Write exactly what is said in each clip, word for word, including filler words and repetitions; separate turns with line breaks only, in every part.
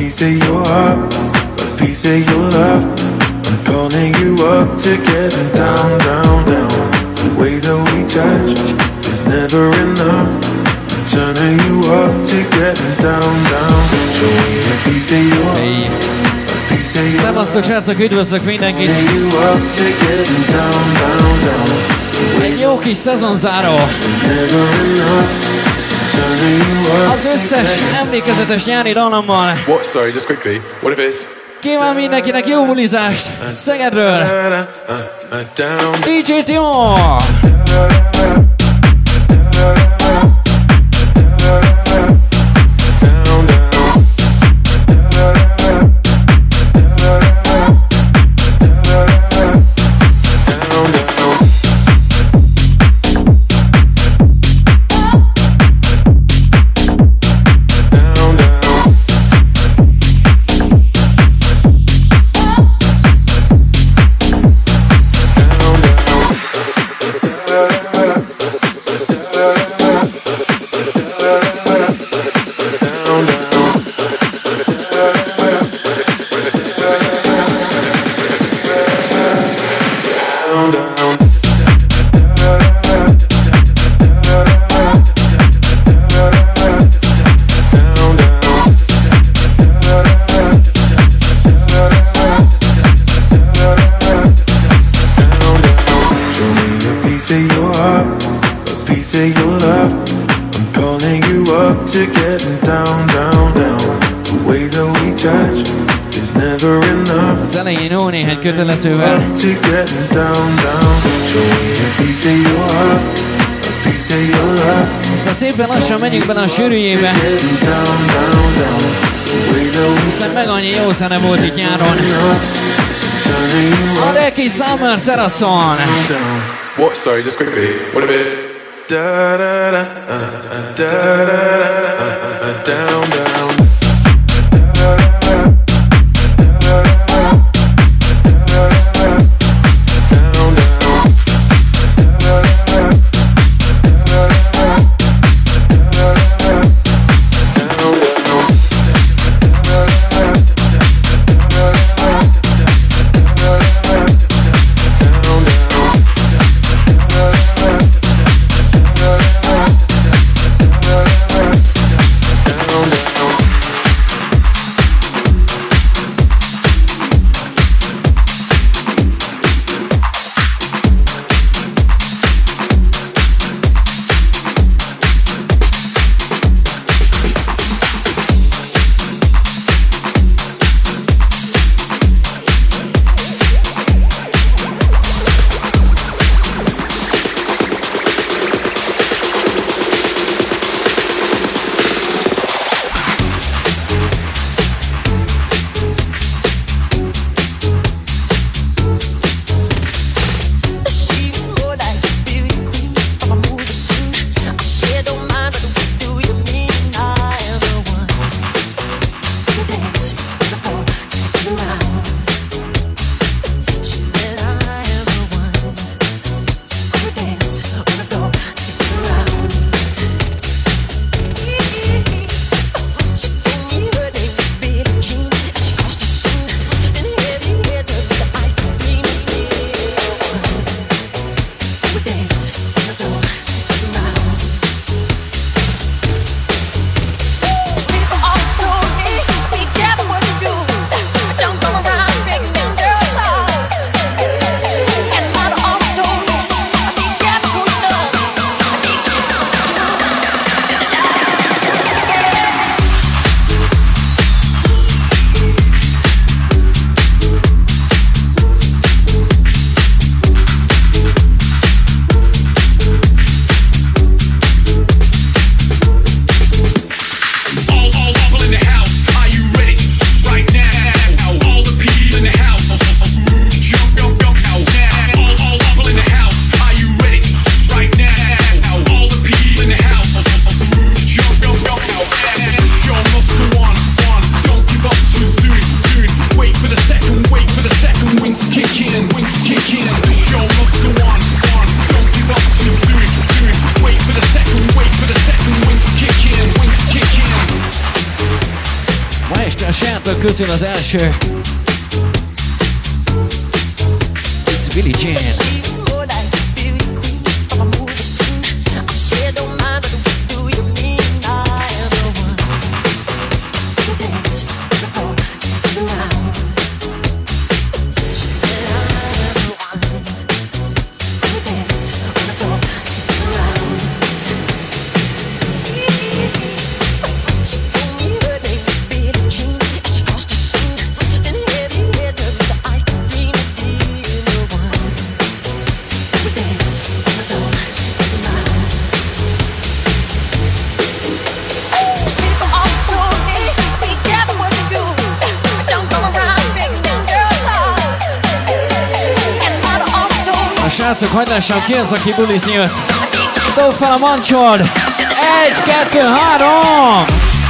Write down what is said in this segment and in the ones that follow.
piece of your heart, a piece of your love. I'm calling you up to get down, down, down. The way that we touch is never enough. I'm turning you up to get down, down. Show me a piece of your heart, a piece of your love.
Szevasztok, srácok, üdvözlök mindenkit! Egy jó kis szezonzáró! Az összes emlékezetes nyári dallammal.
What? Sorry, just quickly. What if it's...
Kíván mindenkinek jó bulizást Szegedről! dé dzsé Timo! Az elején jó néhány kötelezővel. Aztán szépen lassan megyünk bele a sűrűjébe. Hiszen meg annyi jó zene volt itt nyáron. A Reki Summer teraszon.
What? Sorry, just quickly. What if it's... Da da da, uh, da da da, uh, down, down.
Ma este a srácok közül az első. It's Billie Jean. Srácok, hagyd lássam ki az, aki bulizni jött. Dob fel a mancsod! Egy, kettő, három!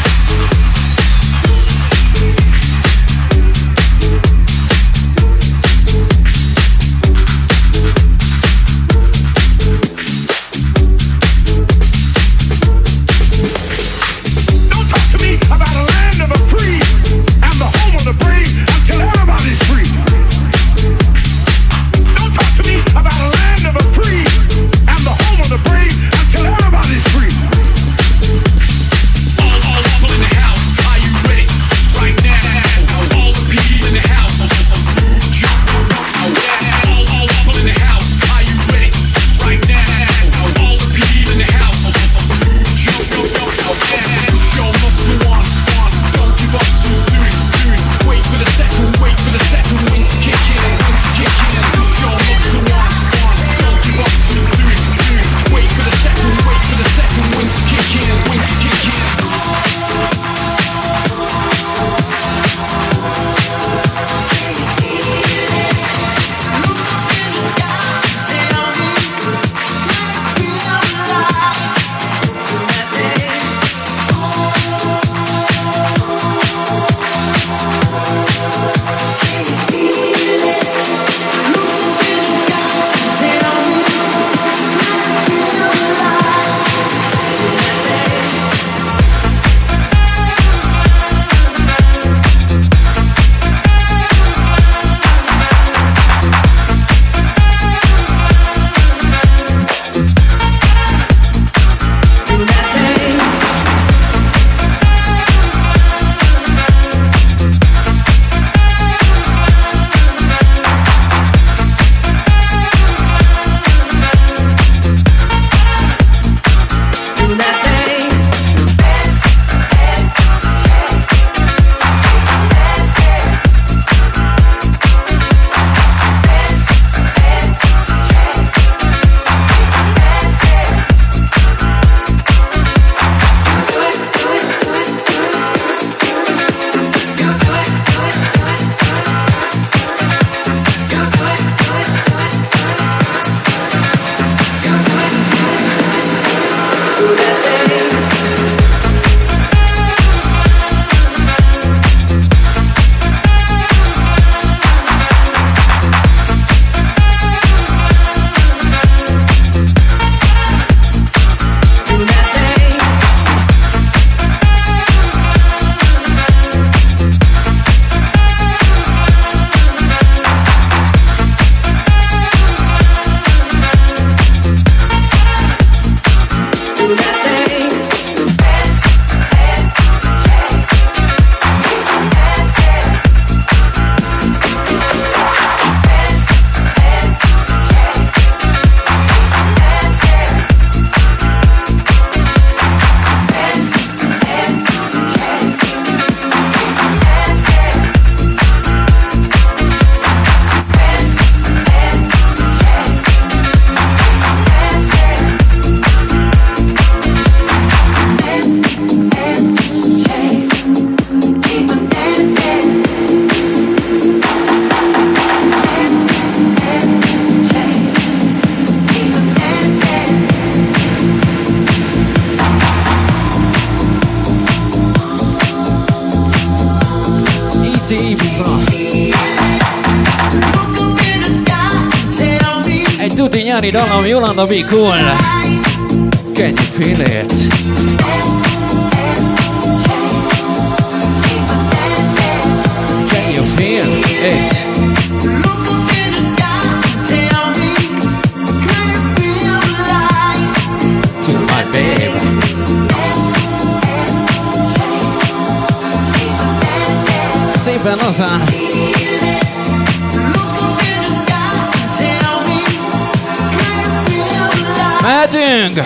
Egy tuti nyári dallam, Yolanda Be Cool. Can you feel it? eight. To my babe. Szépen lazán. Mehetünk!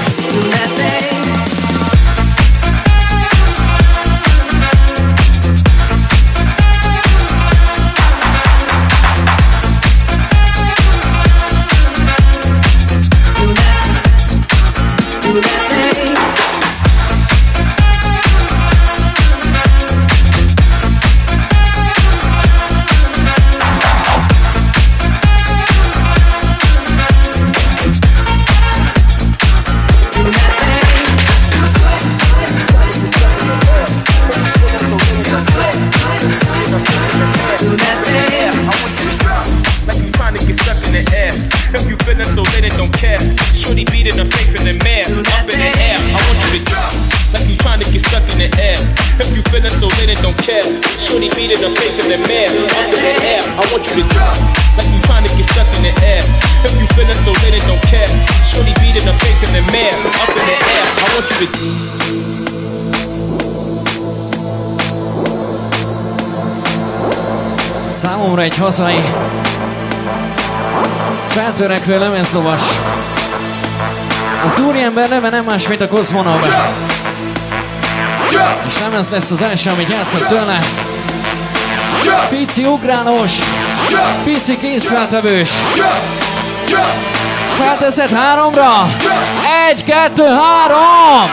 Számomra egy hazai feltörekvő lemezlovas. Az úriember neve nem más, mint a Kozmonov. És nem ez lesz az első, amit játszok tőle. Pici ugrálós, pici készfeltevős. Felteszed háromra. Egy, kettő, három!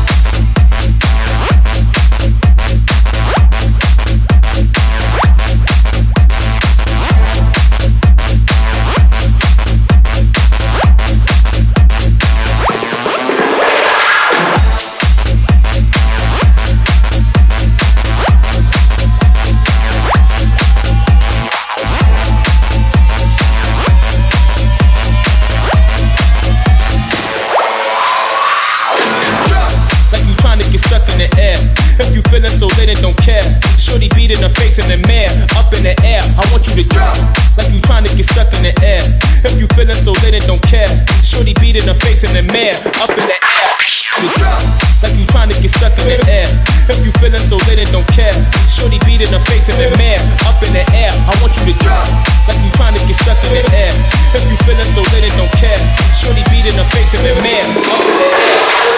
Feeling so lit and don't care. Shorty beat in the face in the mirror, up in the air. I want you to drop like you trying to get stuck in the air. If you feeling so lit and don't care. Shorty beat in the face in the mirror, up in the air. Like you trying to get stuck in the air. If you feeling so lit and don't care. Shorty beat in the face in the mirror, up in the air. I want you to drop like you trying to get stuck in the air. If you feeling so lit and don't care. Shorty beat in the face in the mirror, up in the air.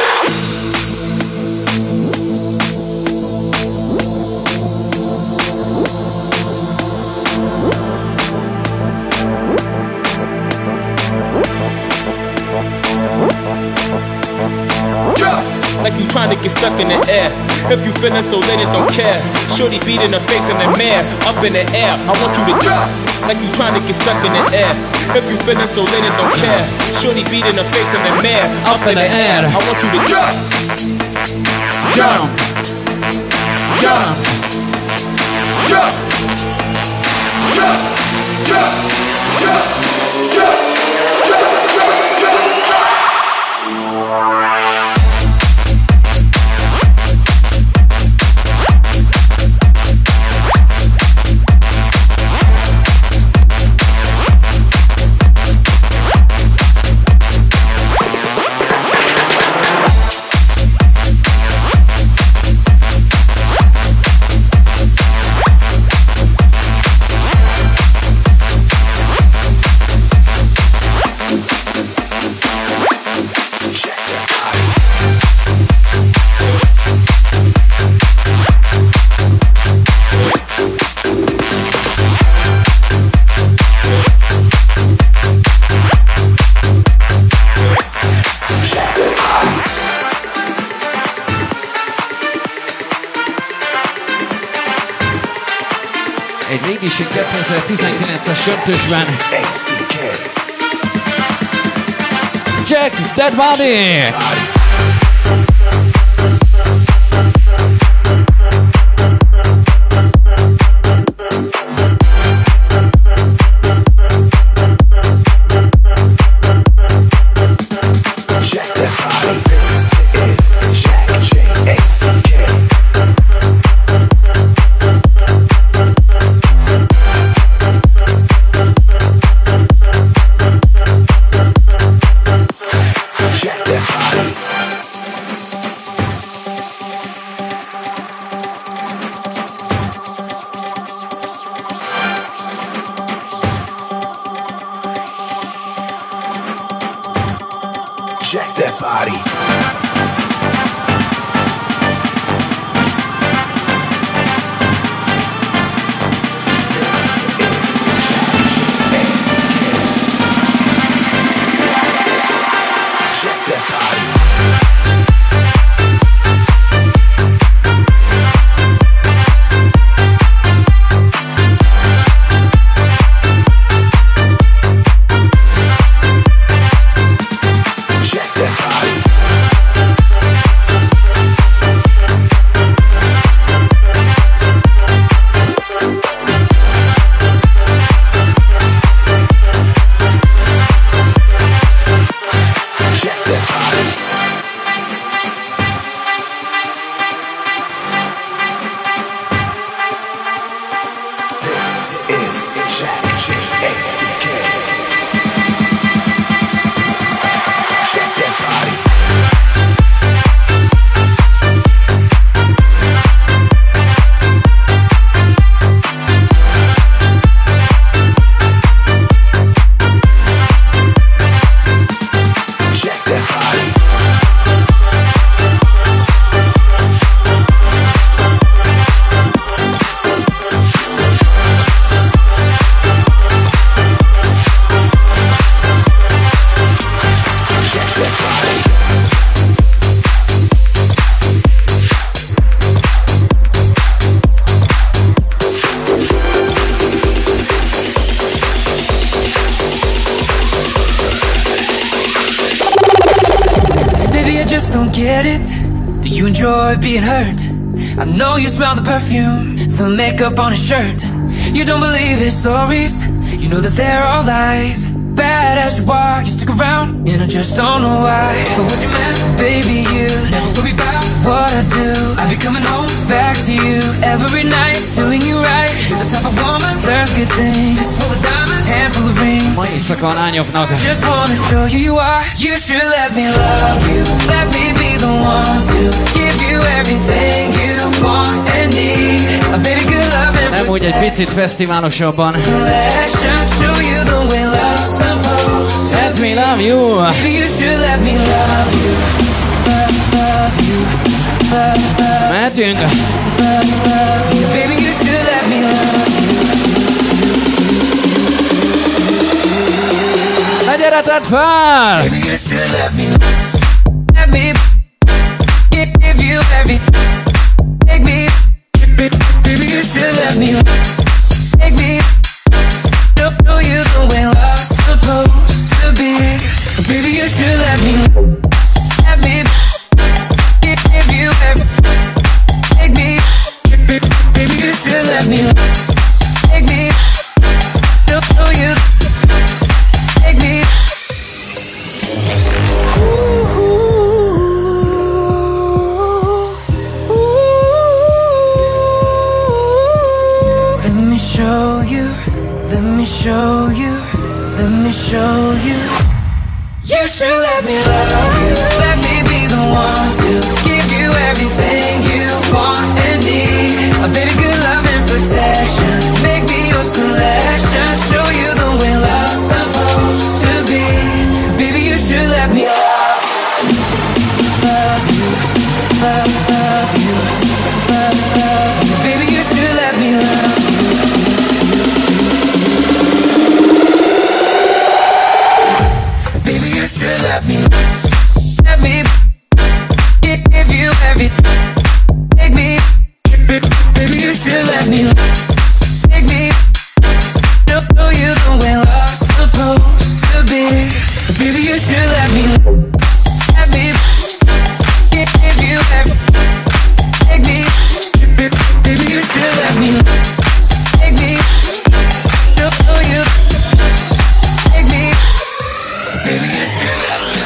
Like you trying to get stuck in the air. If you feeling so lit and don't care. Shorty beat in the face in the mirror, up in the air. I want you to drop like you trying to get stuck in the air. If you feeling so lit and don't care. Shorty beat in the face in the mirror, up in the air. I want you to drop. Jump, jump, jump, jump, jump, jump, jump, jump, jump, jump. kétezer-tizenkilences döntősben Jack That Body!
get it? Do you enjoy being hurt? I know you smell the perfume, the makeup on his shirt. You don't believe his stories, you know that they're all lies. Bad as you are, you stick around, and I just don't know why. If I was your man, baby, you never worry about what I do. I'd be coming home, back to you every night, doing you right. You're the type of woman, serves good things. Full of diamonds, handful of rings.
Ma éjszaka a lányoknak.
Just wanna show you you are. You should let me love you. Let me be the one to give you everything you want and need. A baby good love and
nem úgy egy picit fesztiválosabban.
Show you the way love's supposed to
Let me love you.
Baby, you should let me love you. Love, love you. Love, love,
mehetünk.
love, love you. Baby, you should let me love you.
Ne gyere, tedd fel!
Baby, you should let me Let me give, give you every Take me Baby, you should let me Take me Show you the way love's supposed to be. Baby, you should let me Let me give, give you every Take me Baby, you should let me Take me Show you Take me Let me show you Let me show you, let me show you. You should let me love you. Let me be the one to give you everything you want and need. A baby good love and protection. Make me your selection. Show you the way love's supposed to be. Baby, you should let me love you. Love you, love, love you, love, love you. Baby, you should let me love you. Baby, you should let me, let me give, give you every, take me. Baby, you should let me, take me. Show you the way love's supposed to be. Baby, you should let me, let me give, give you every, take me. Baby, you should let me, take me. Show you, take me. Baby, you should let me.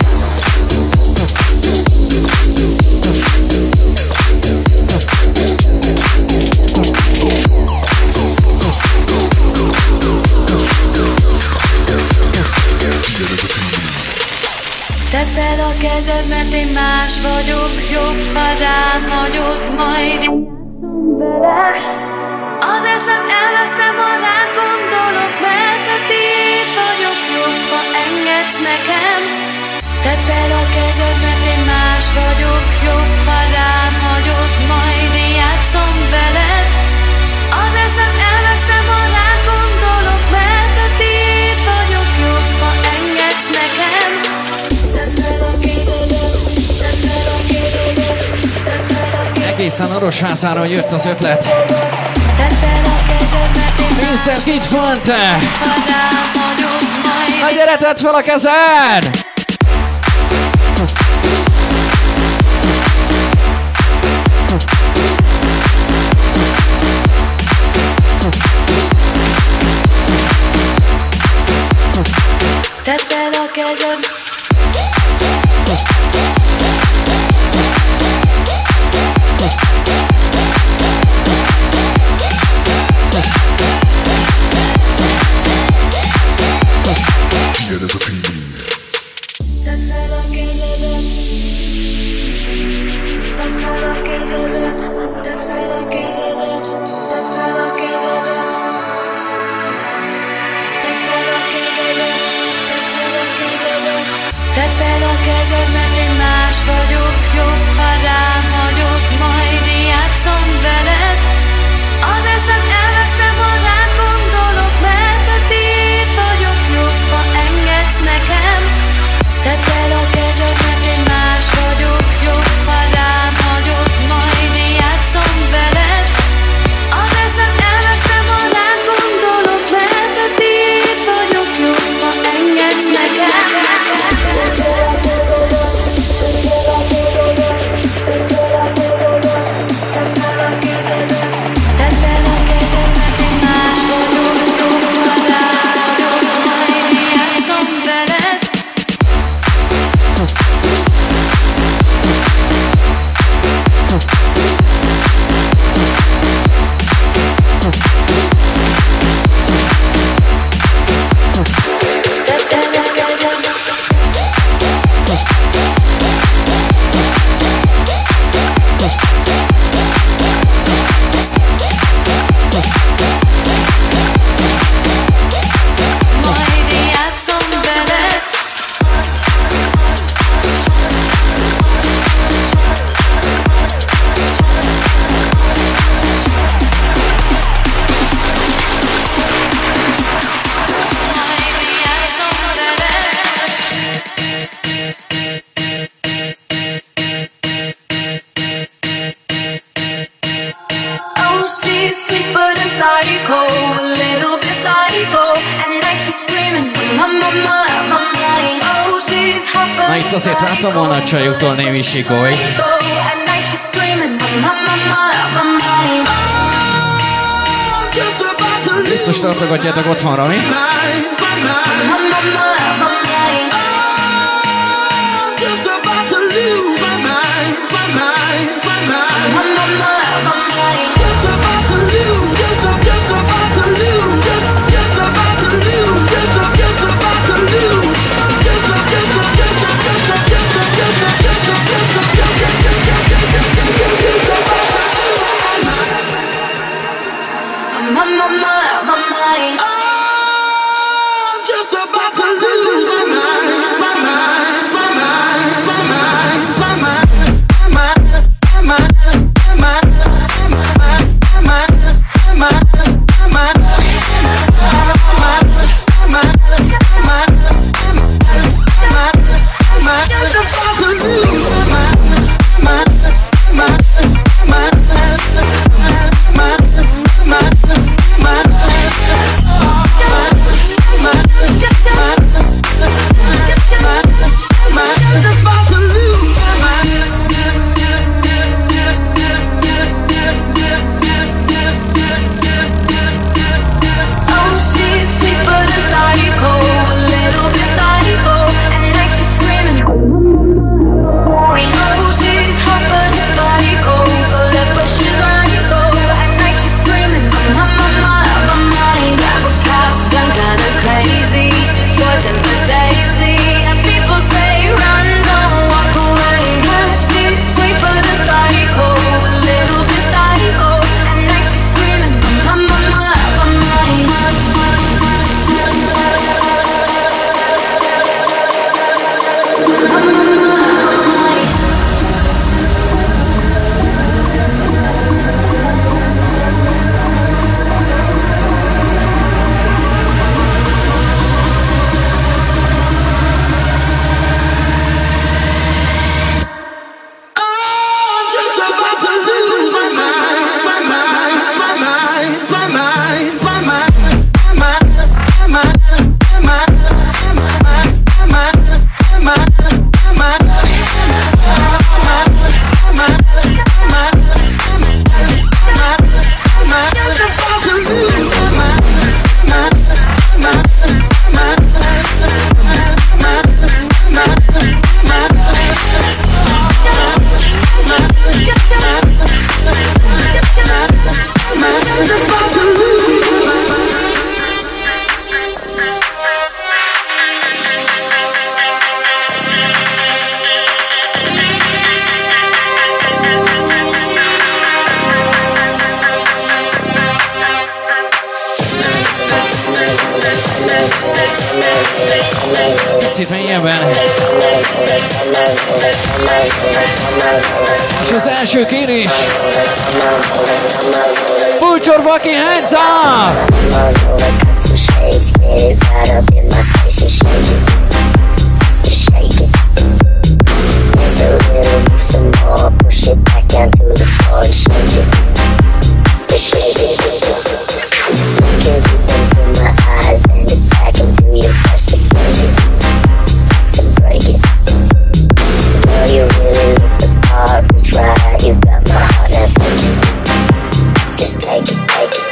Tedd fel a kezed, mert én más vagyok. Jobb, ha rám hagyod, majd játszom veled. Az eszem elvesztem, ha rád gondolok, mert a tiéd vagyok. Jobb, ha engedsz nekem. Tedd fel a kezed, mert én más vagyok. Jobb, ha rám hagyod, majd én játszom veled. Az eszem elvesztem, ha rád gondolok, mert a tiéd vagyok. Jobb, ha engedsz nekem. Tedd fel a kezedet, tedd fel a kezedet, tedd fel a kezedet.
Egészen Orosházáról jött az ötlet.
Tedd fel a kezed, mert én
miszter Kid Fonte!
ha rám hagyod, majd
Na gyere, tedd fel a kezed!
tedd fel a kezed.
Yeah, there's a feeling.
she's sweet but a psycho, a little bit psycho. At night she's screaming, mama, mama, mama. Oh, she's hot but
na itt azért láttam volna a csajuktól némi sikolyt.
At night she's screaming, mama, mama, mama.
Biztos tartogatjátok otthonra, mi? Picit mélyebben. És az első kérés. Put your fucking hands up!
Push it back down to the floor and shake it. Shake it. Look into my eyes, bend it back and do your best to break it. To break it. Girl, you really look the part. Reach right, you got my heart, now take it. Just take it, take it.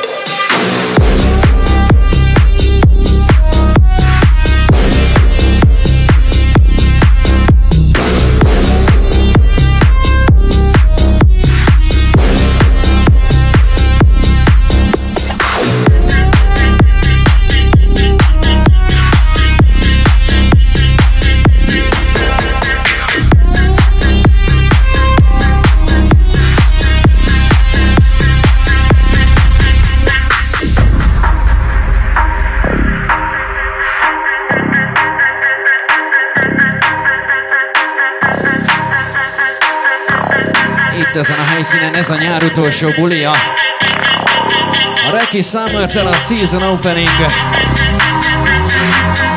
Ezen a helyszínen ez a nyár utolsó bulia. A Reki Summertől a Season Opening.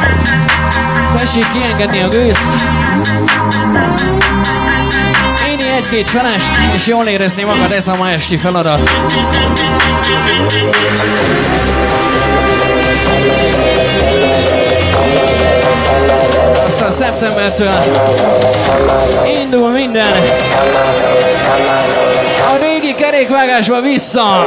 Tessék kiengedni a gőzt. Én egy-két felest, és jól érezni magad, ez a ma esti feladat. Aztán szeptembertől indul minden a régi kerékvágásba vissza.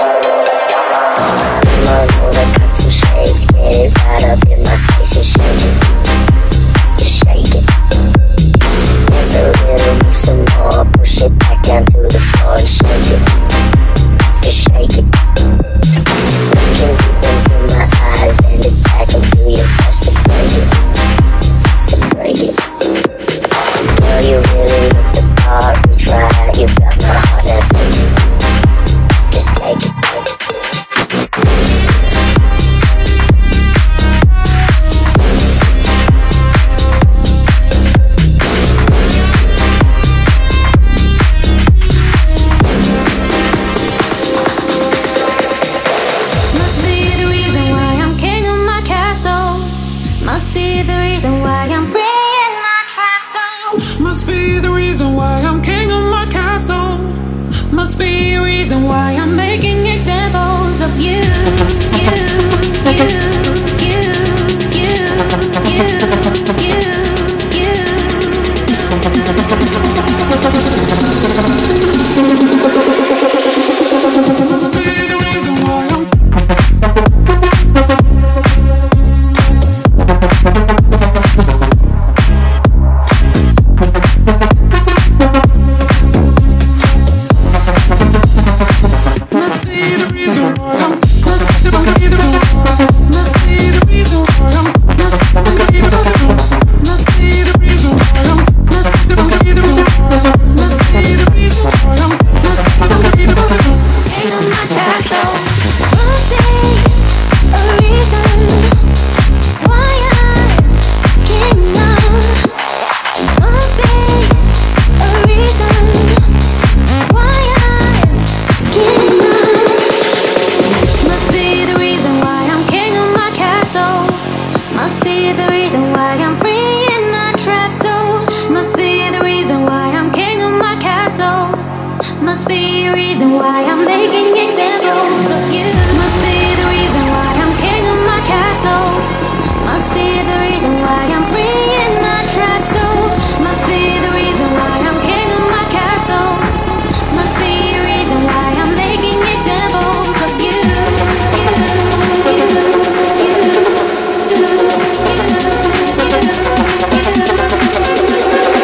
Some more, push it back down to the floor and shake it. Just shake it. Looking deep into my eyes, bend it back and do your best to break it. To break it. Girl, you really look the part. We tried, you got my heart, now take it. Just take it.
Must be a reason why I'm making examples of you, you, you, you, you, you, you, you. Must be the reason why I'm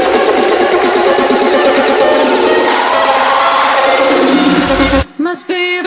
must be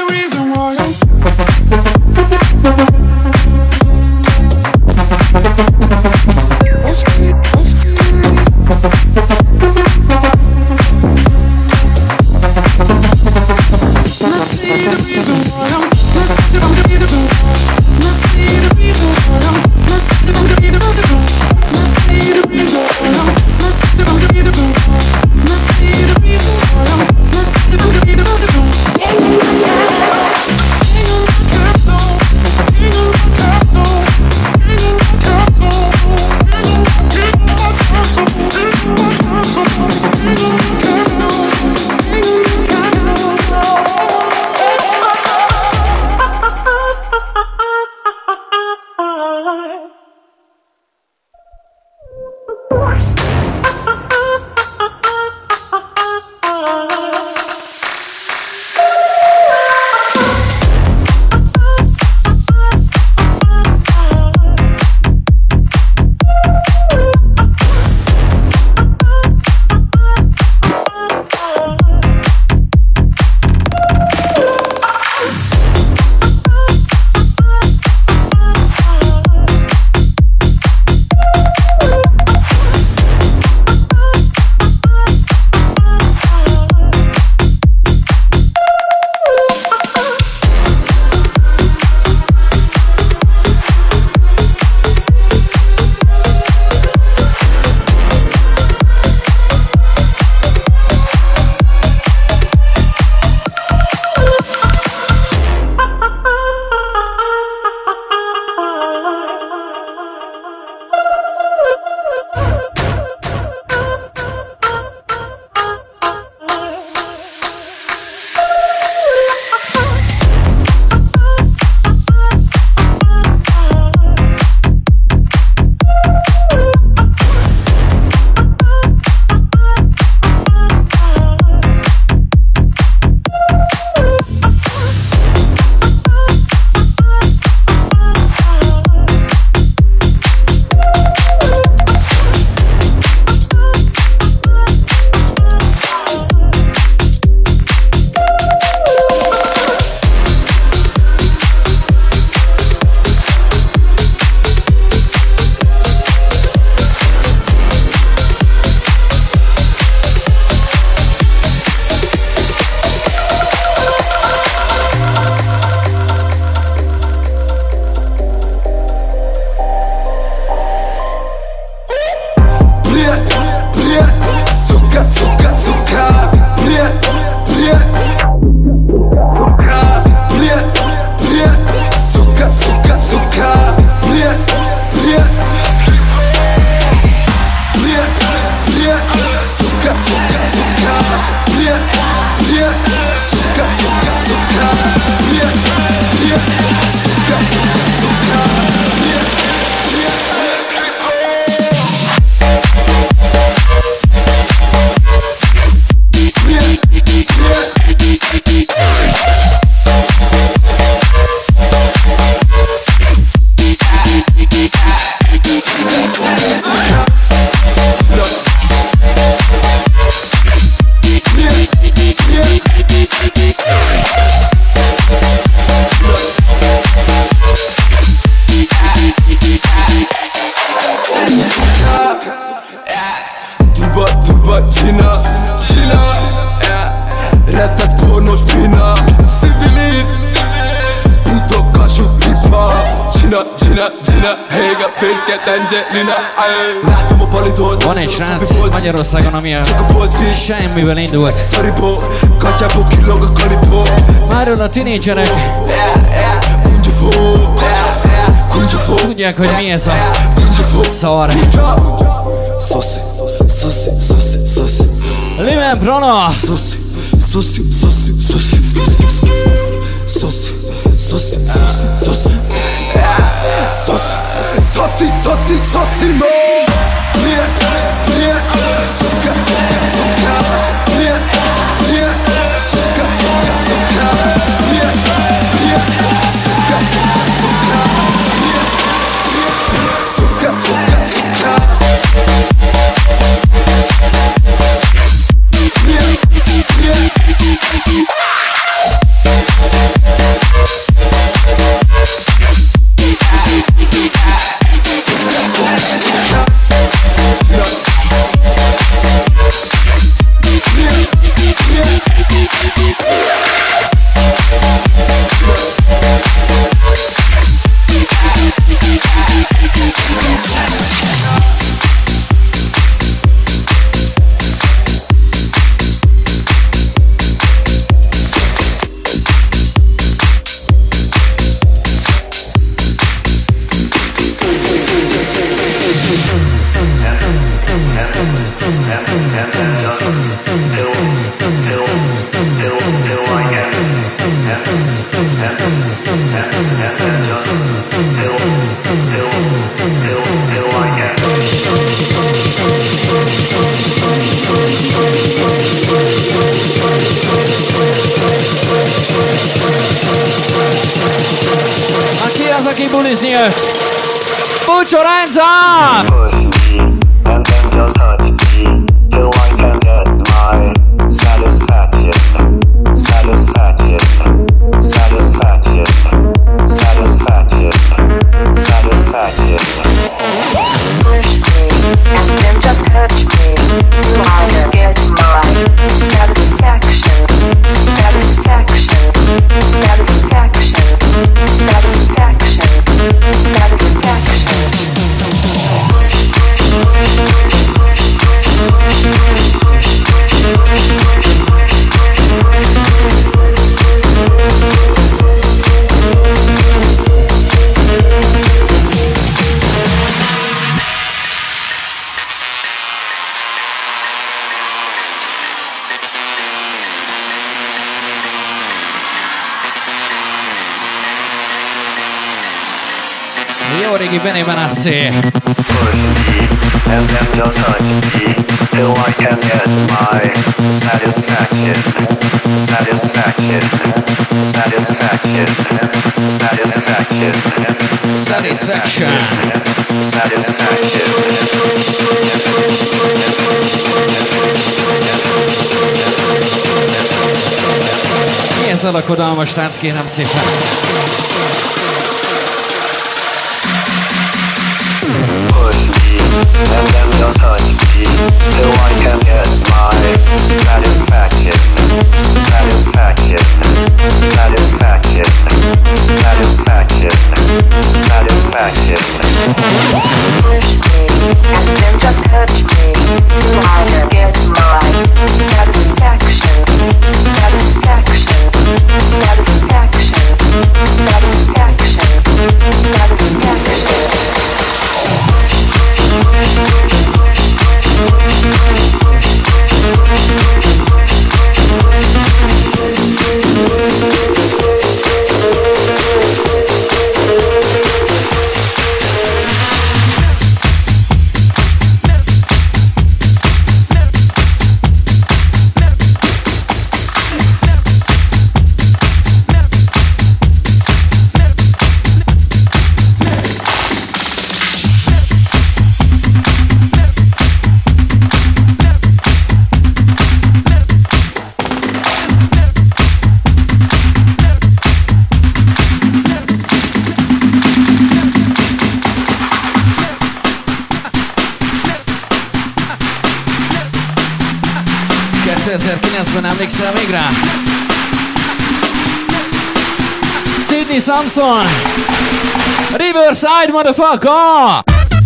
Gina, Gina, hey, got face, get Angelina. Látom a palidót.
Van egy srác Magyarországon, ami a semmivel indult.
Szaripó, katyából killog a kalipó.
Máról a tinédzserek tudják, hogy mi ez a szar.
Szoszi, szoszi, szoszi, szoszi.
Limen Prana.
Szoszi, szoszi, szoszi, szoszi. Szoszi, szoszi, szoszi, szoszi. Szoszi, szoszi, szoszi, szoszi, no. Prie, prie, szuka, szuka, szuka. Prie, prie, szuka, szuka, szuka. Prie, prie, szuka, szuka, szuka. Prie, prie, szuka, szuka, szuka. Prie, prie.
Put your hands up!
Push me and then just touch me till I can get my satisfaction, satisfaction, satisfaction, satisfaction, satisfaction.
Push me and then just touch me till I can get my satisfaction, satisfaction, satisfaction, satisfaction, satisfaction.
Jó régi Benny Benassi.
Push me and then just touch me till I can get my satisfaction, satisfaction, satisfaction, satisfaction,
Satisfaction.
satisfaction.
Milyen szalakodalmas tánc, kérem szépen.
And then just touch me till I can get my satisfaction, satisfaction, satisfaction, satisfaction, satisfaction.
Push me and then just touch me till I can get my satisfaction, satisfaction, satisfaction, satisfaction, satisfaction.
kétezer-kilencben emlékszel még rá? Sydney Sydney Samson. Riverside, motherfucker!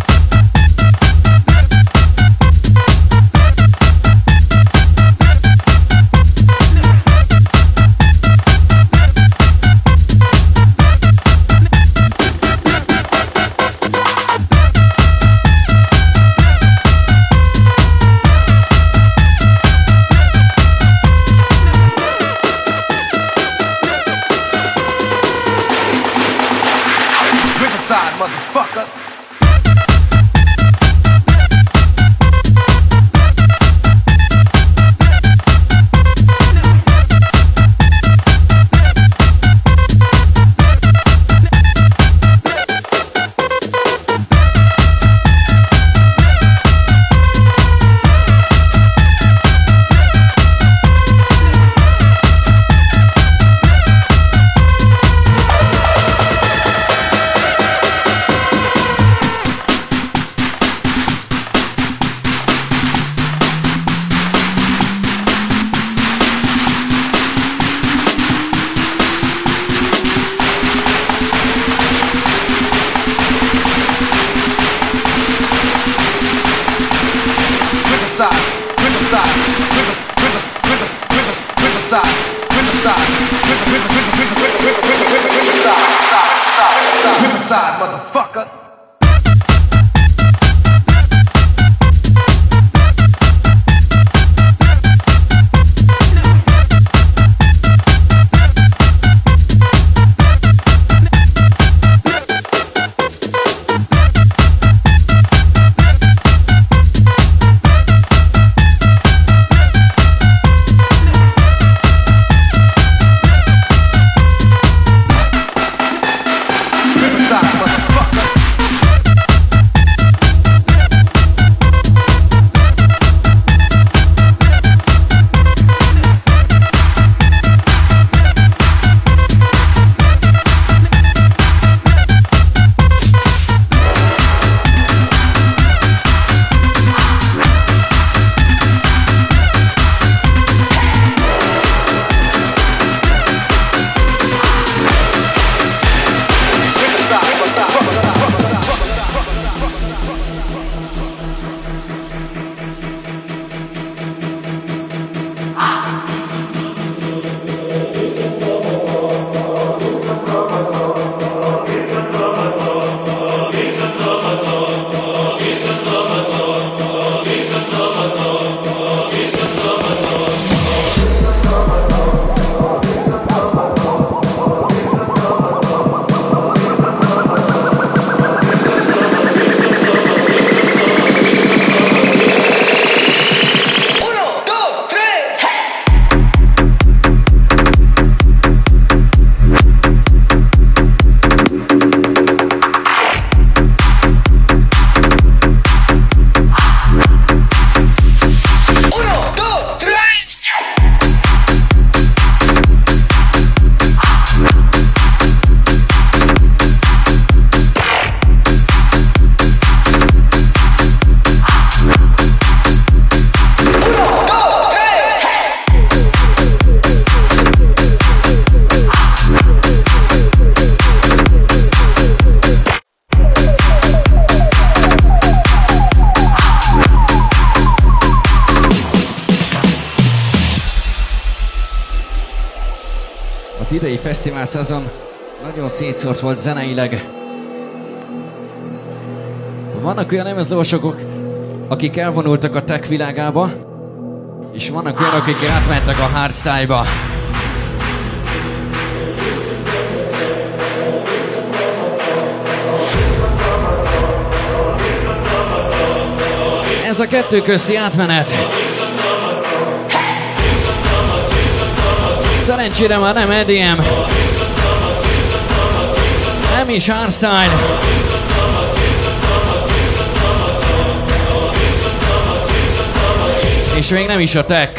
Az idei fesztivál szezon nagyon szétszórt volt zeneileg. Vannak olyan lemezlovasok, akik elvonultak a tech világába, és vannak olyanok, akik átmentek a hardstyle-ba. Ez a kettő közti átmenet. Szerencsére már nem E D M, nem is hardstyle, és még nem is a tech.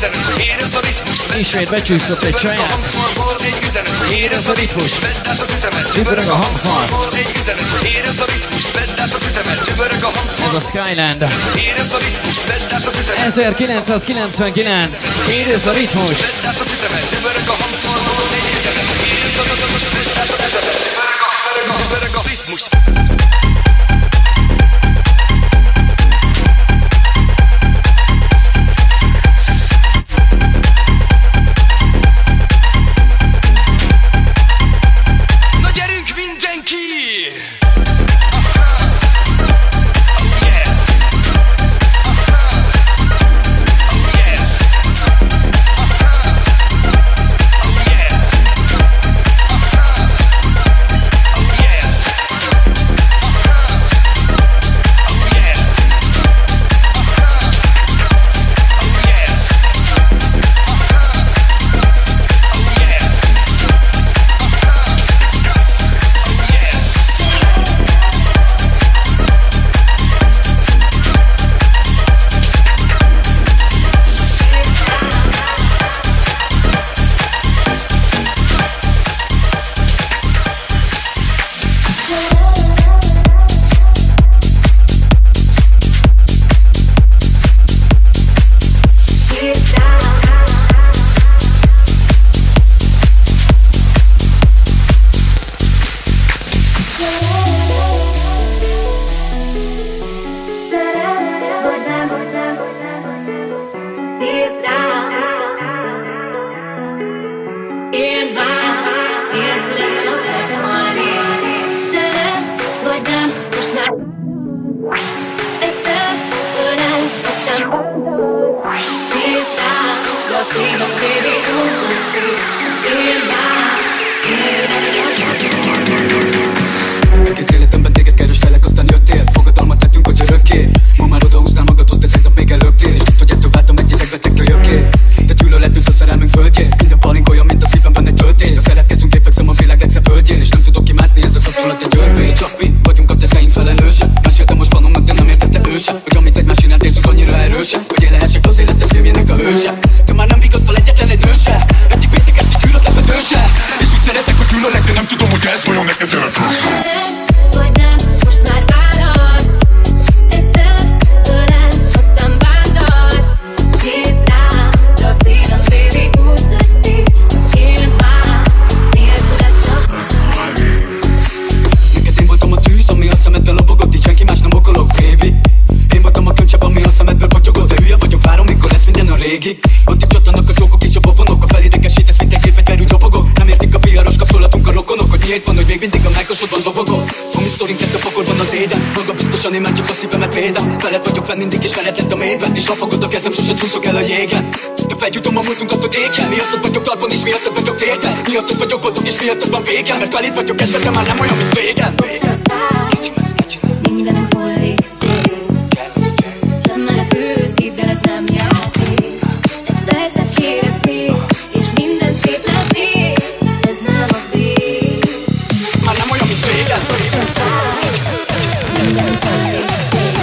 Ismét becsúszott egy saját. Érezd a ritmus. Dübörög a hangfal. Ez a Skyland. ezerkilencszázkilencvenkilenc. Érezd a ritmus.
Mindig is veled lett a mélyben, és rafogod a kezem, sosem csúszok el a jégen. De feljutom a múltunkat, hogy égen. Miattad vagyok talpon, és miattad vagyok térden. Miattad vagyok boldog, és miattad van végem. Mert veled vagyok esve, de már nem olyan, mint régen.
Mindenünk hullik szép. Nem menekülsz, hidd el, ez nem játék. Egy percet kérek még, és minden szép lesz még. Ez nem a vég.
Már nem olyan, mint régen.
Mindenünk hullik szép.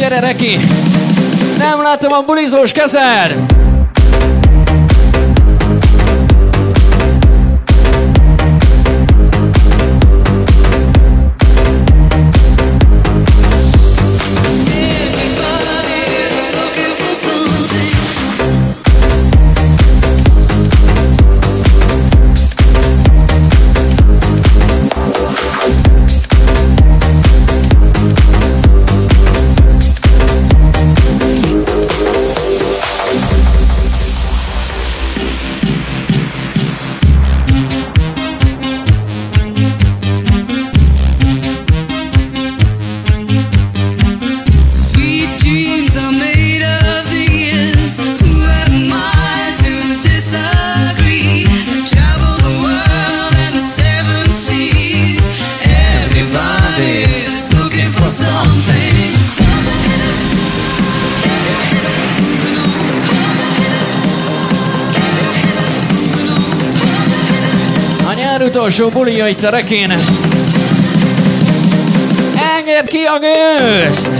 gyere Reki! Nem látom a bulizós kezed! Utolsó bulia itt a Rekén. Engedd ki a gőzt!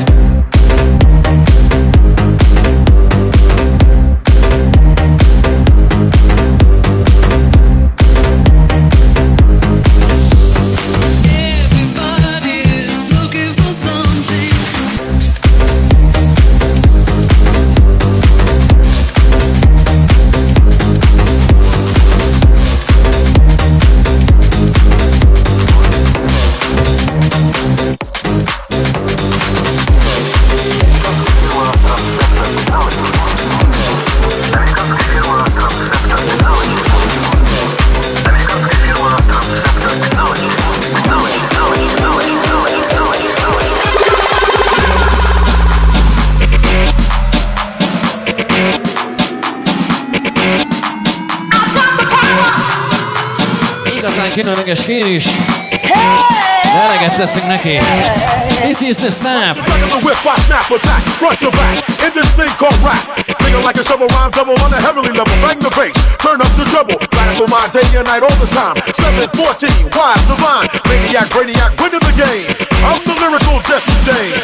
Különleges kérés. Eleget teszünk neki. This is the snap.
The whip, I snap, attack, front to back. In this thing called rap. Thinking like a shovel rhyme double on a heavenly level. Bang the bass, turn up the treble. Radical mind day and night all the time. seven fourteen, wise divine. Maniac, brainiac, winning the game. I'm the lyrical Jesse James.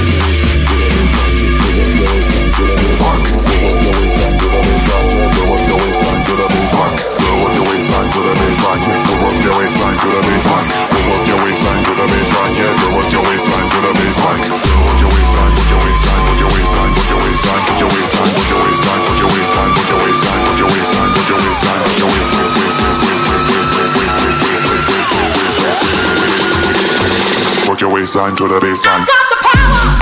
Work your waistline to the baseline. Got the power.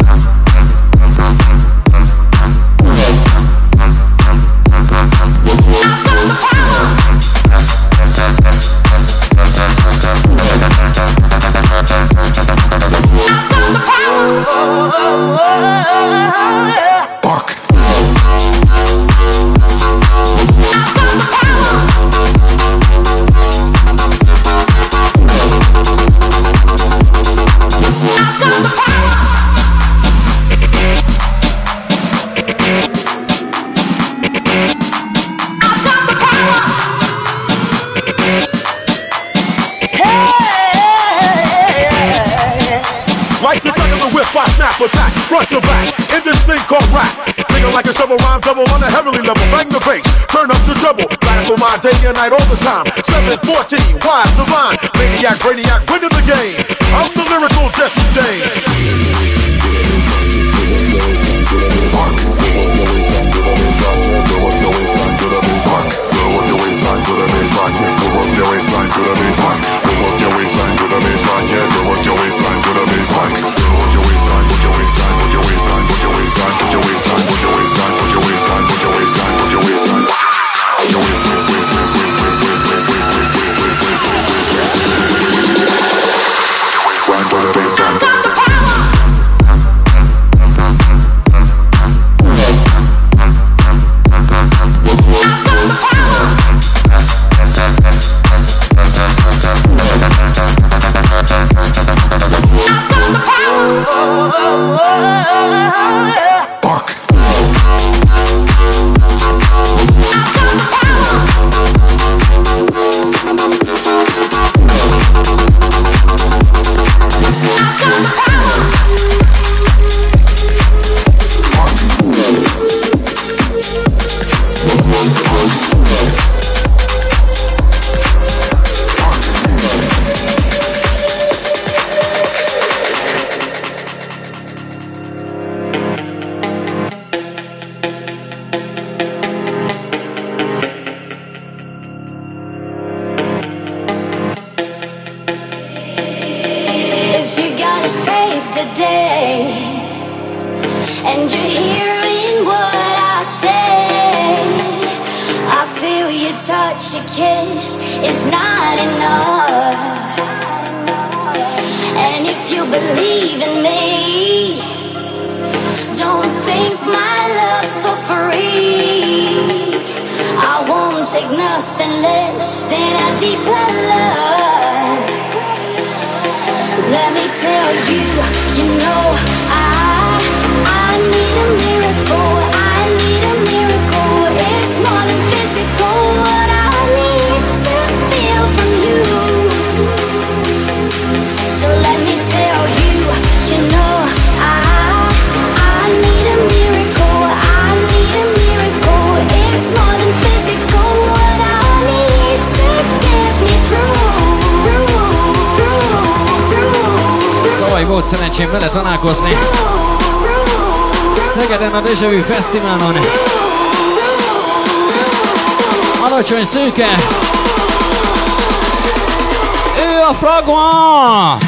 Attack, front to back, in this thing called rap. Thinking like a shovel rhyme double on a heavenly level. Bang the bass, turn up the treble. Radical mind day and night all the time. seven fourteen, wise divine. Maniac, brainiac, winning the game. I'm the lyrical Jesse James.
be saved today. And you're hearing what I say. I feel your touch, your kiss, it's not enough. And if you believe in me, don't think my love's for free. I won't take nothing less than a deeper love. Let me tell you, you know I, I need a miracle, I need a miracle. It's more than physical, what I need to feel from you. So let me tell you, you know I, I need a miracle, I need a miracle. It's more than physical, what I need to get me through, through, through, through.
Tavaly volt szerencsém vele találkozni Szegeden a Deja Vu Fesztiválon. Alacsony szőke, ő a Fragma!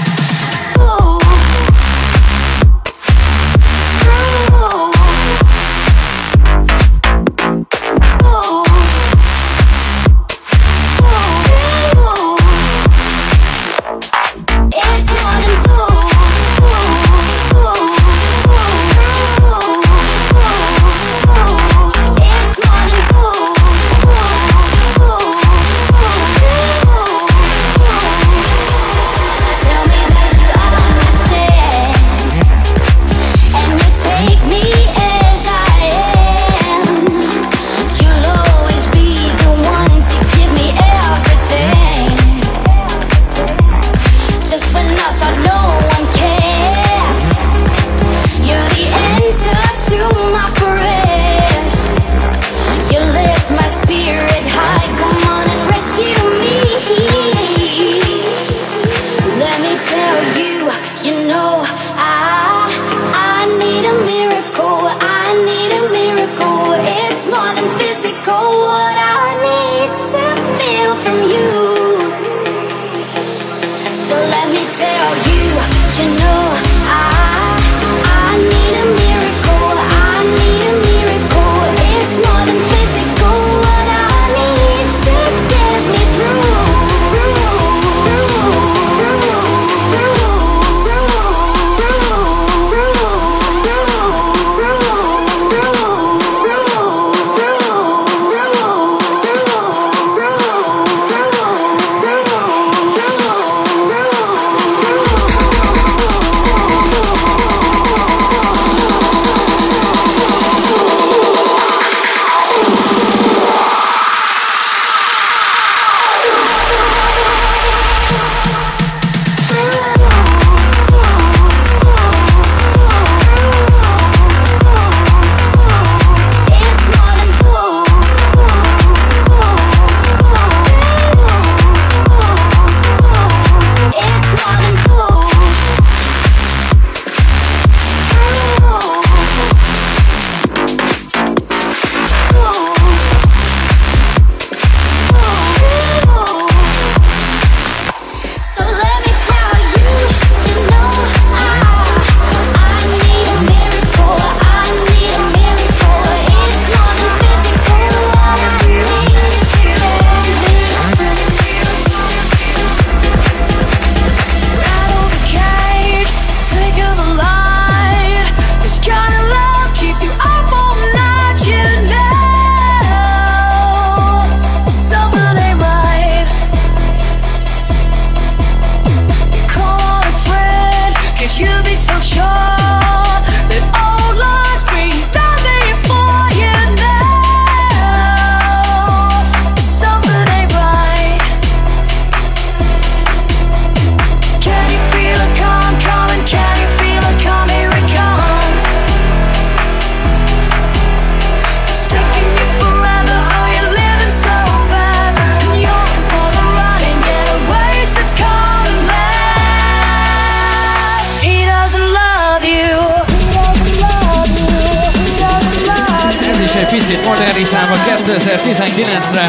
picit modernizálva kétezer-tizenkilencre.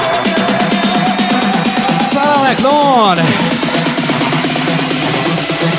Sarah McLeod!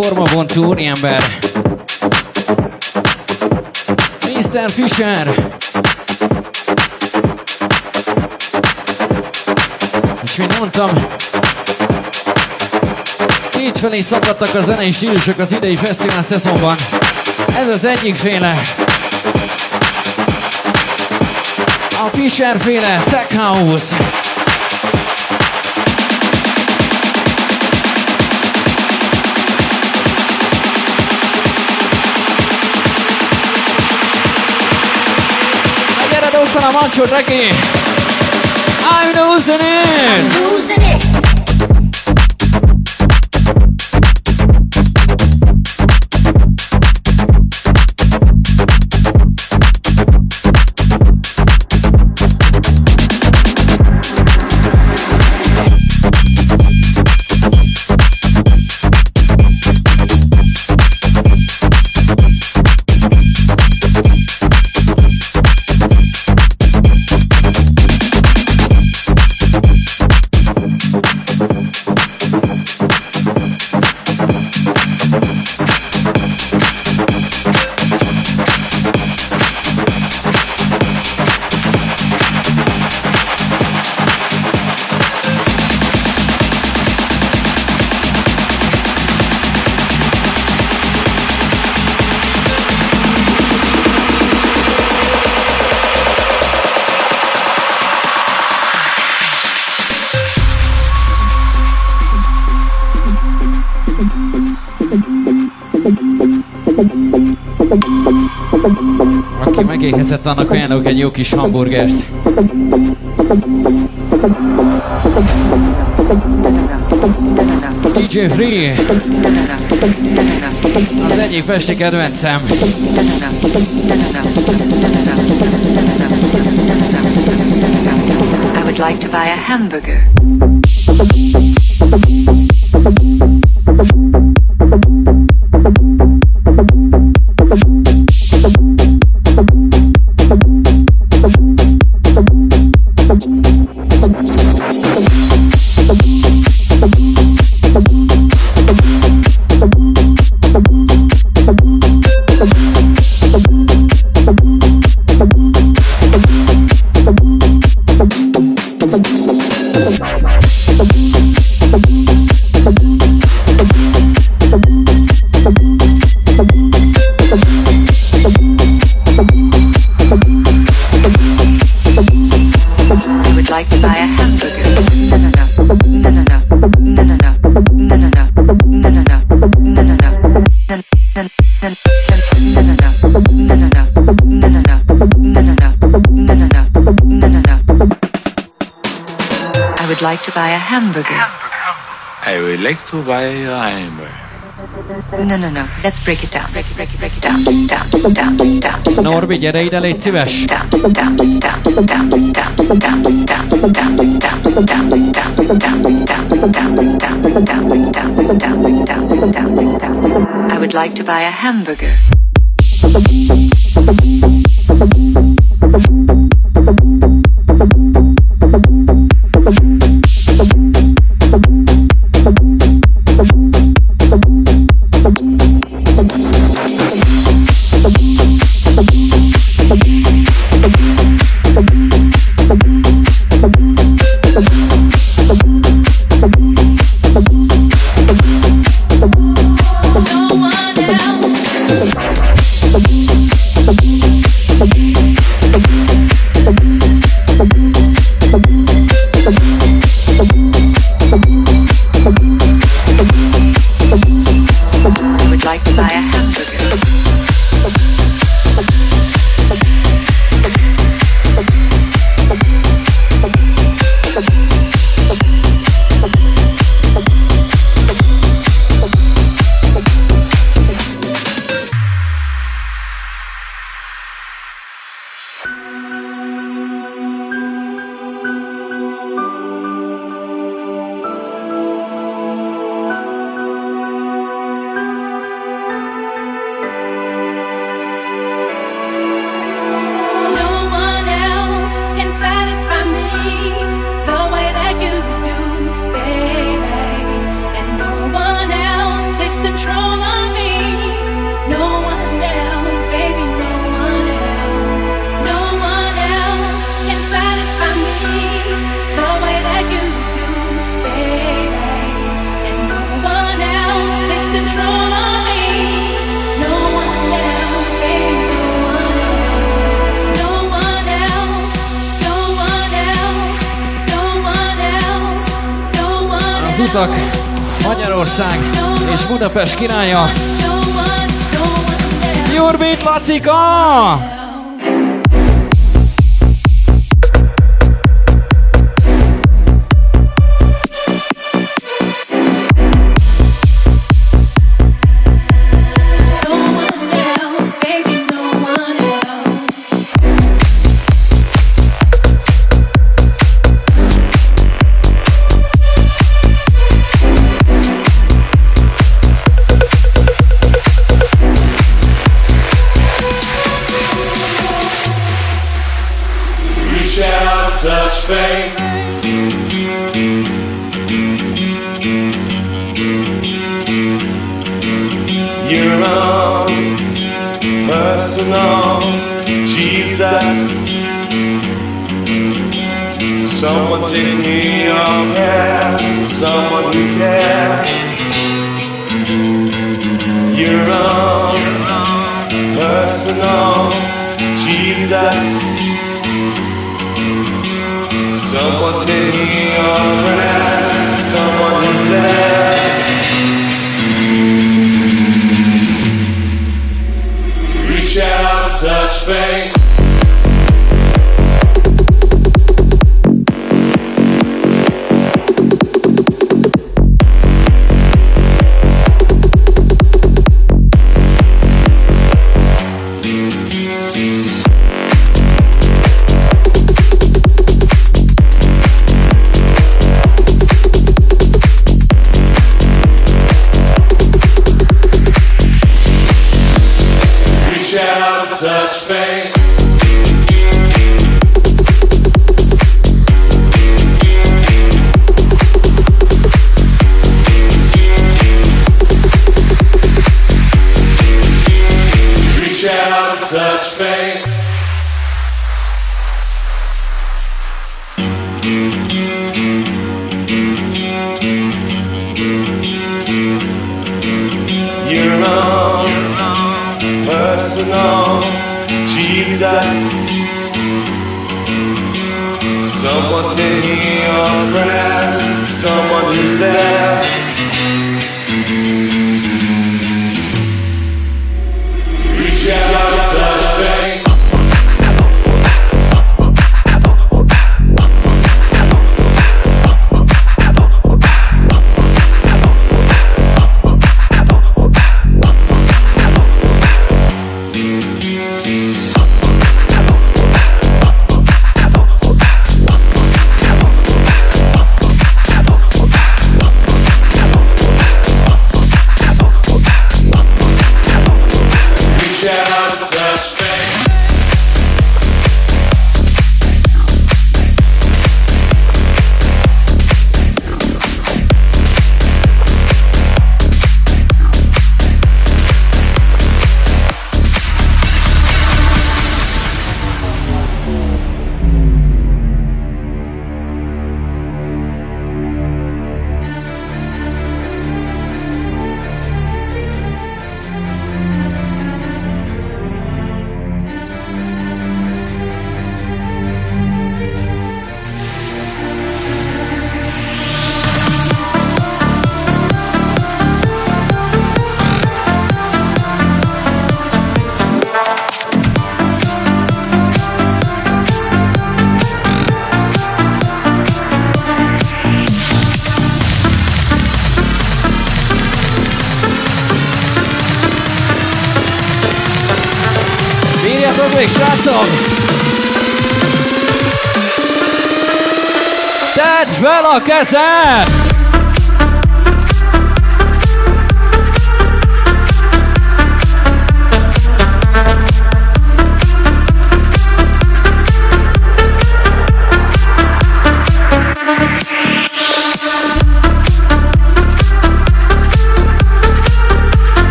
formabontó úriember. miszter Fisher. És mint mondtam, kétfelé szakadtak a zenei stílusok az idei fesztivál szezonban. Ez az egyik féle. A Fisher féle Tech House. Na gyere, dob fel a mancsot, Reki! I'm losing it! I'm losing it! Aki megéhezett, annak ajánlok egy jó kis hamburgert. dé dzsé Free, az egyik pesti kedvencem.
I would like to buy a hamburger. Like to buy a hamburger.
I would like to buy a hamburger.
No, no, no. Let's break it down. Break it, break it, break it down. Down, down, down.
Norbi, gyere ide, légy szíves.
Down, down, down, down, down, down, down, down, down, down, down, down, down, down, down, down, down, down. I would like to buy a hamburger.
No one else.
Észak, Magyarország és Budapest királya. Jurbit Lacika! Még srácok! Tedd fel a kezed!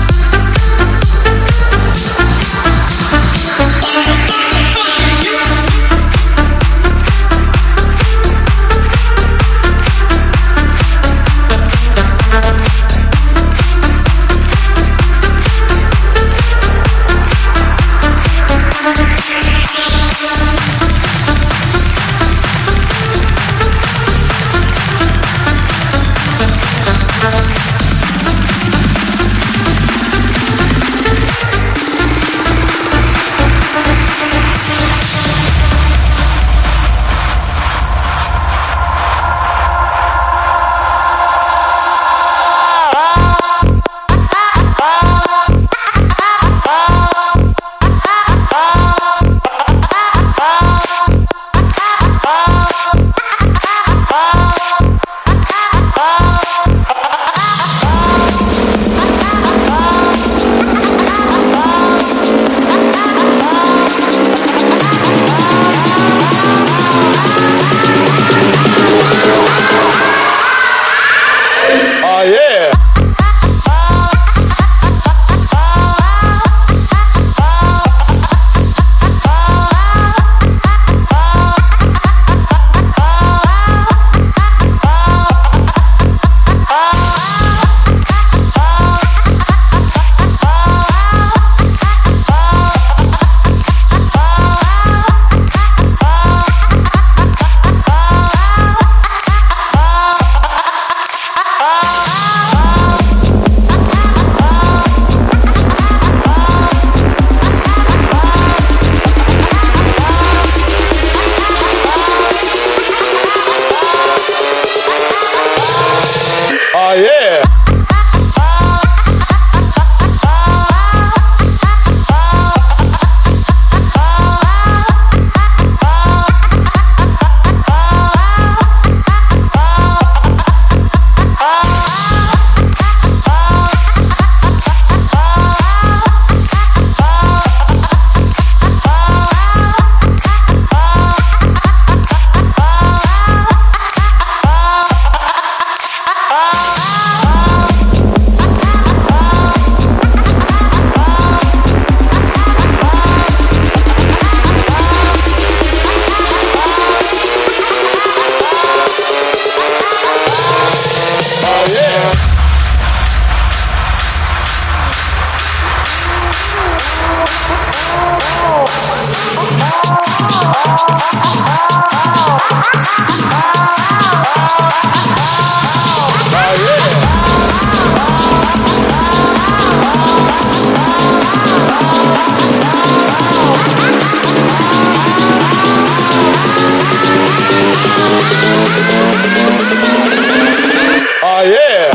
Yes.
Oh yeah.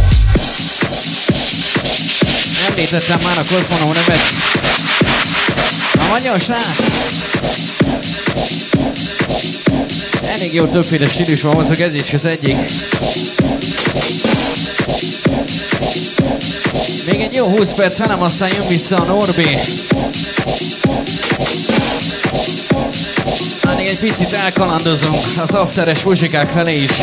Említettem már a Cosmono nevet. Nagyon srác! Elég jó többféle stílus van, mondjuk ez is az egyik. Még egy jó húsz perc velem, aztán jön vissza a Norbi. Még egy picit elkalandozunk az afteres muzsikák felé is.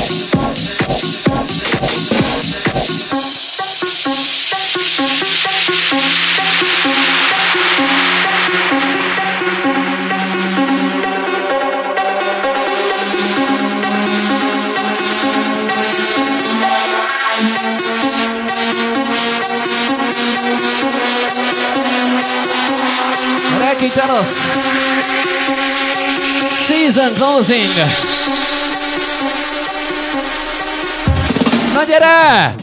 Rekitanos Season closing. Na gyere!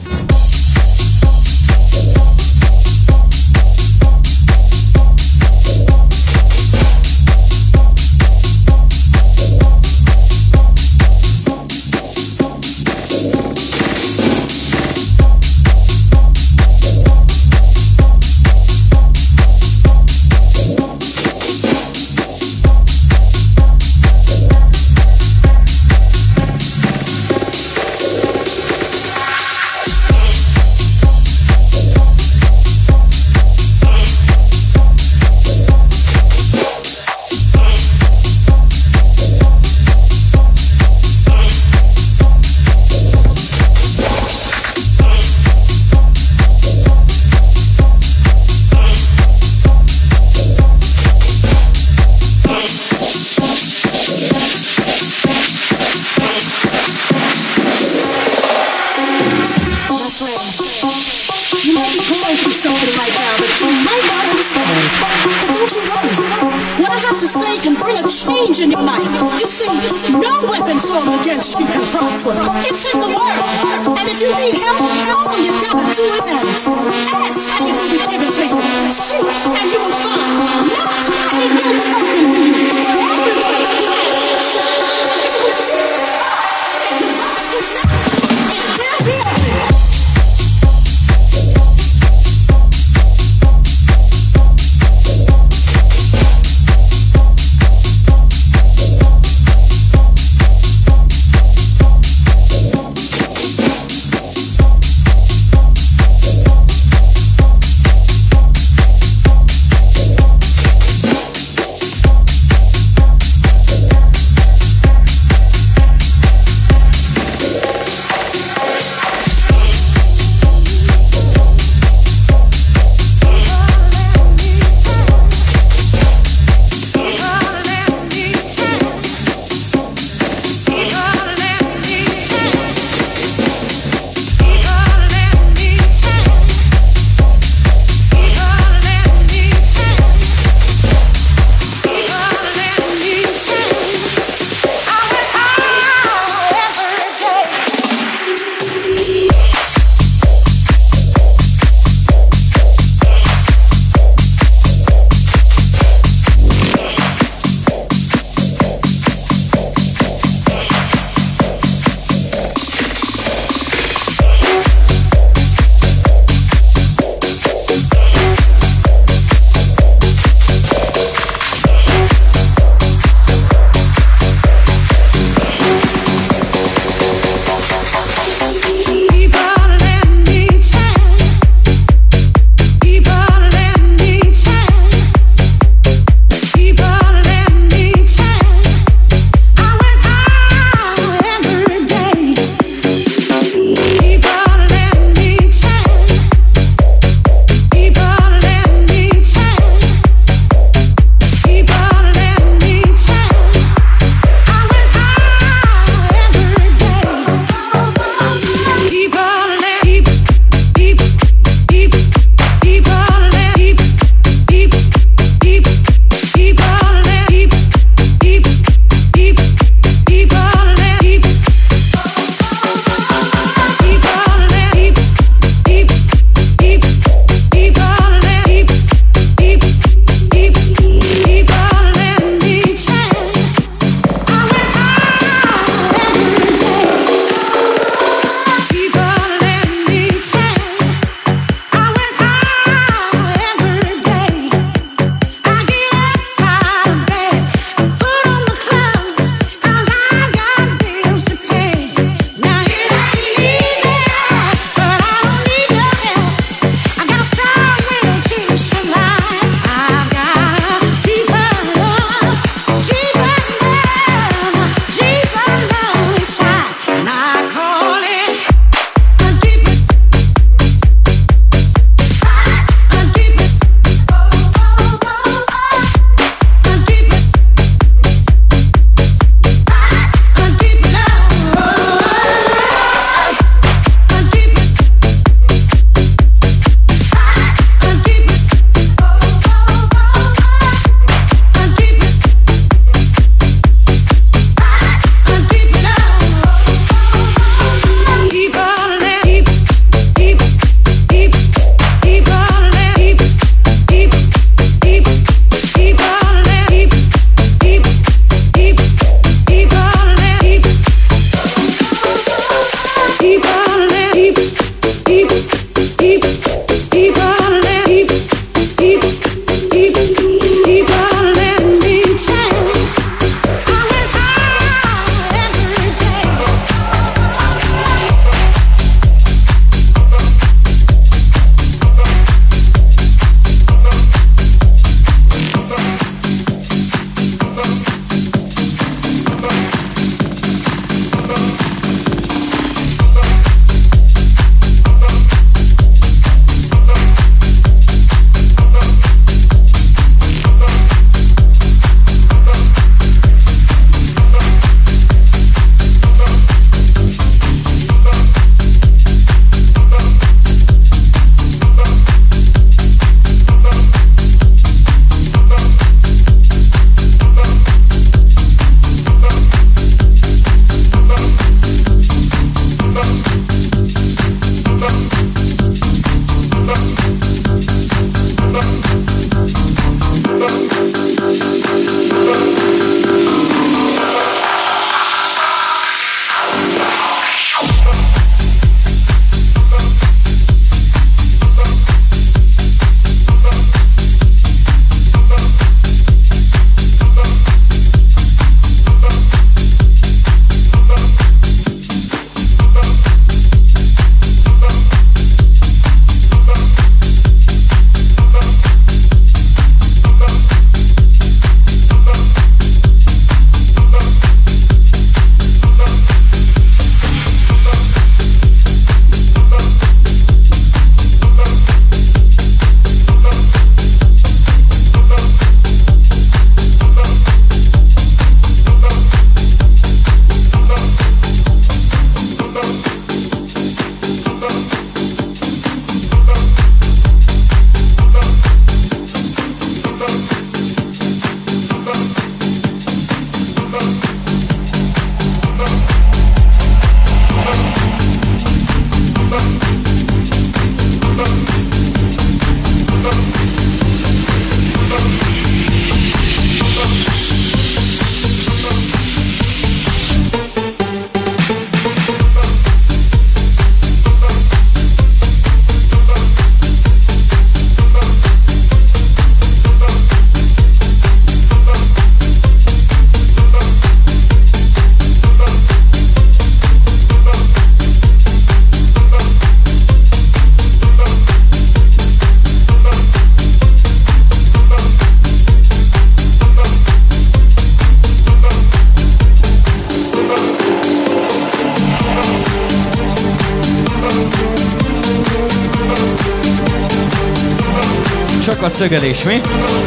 Csak a szögelés, mi?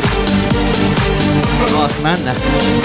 Az menne.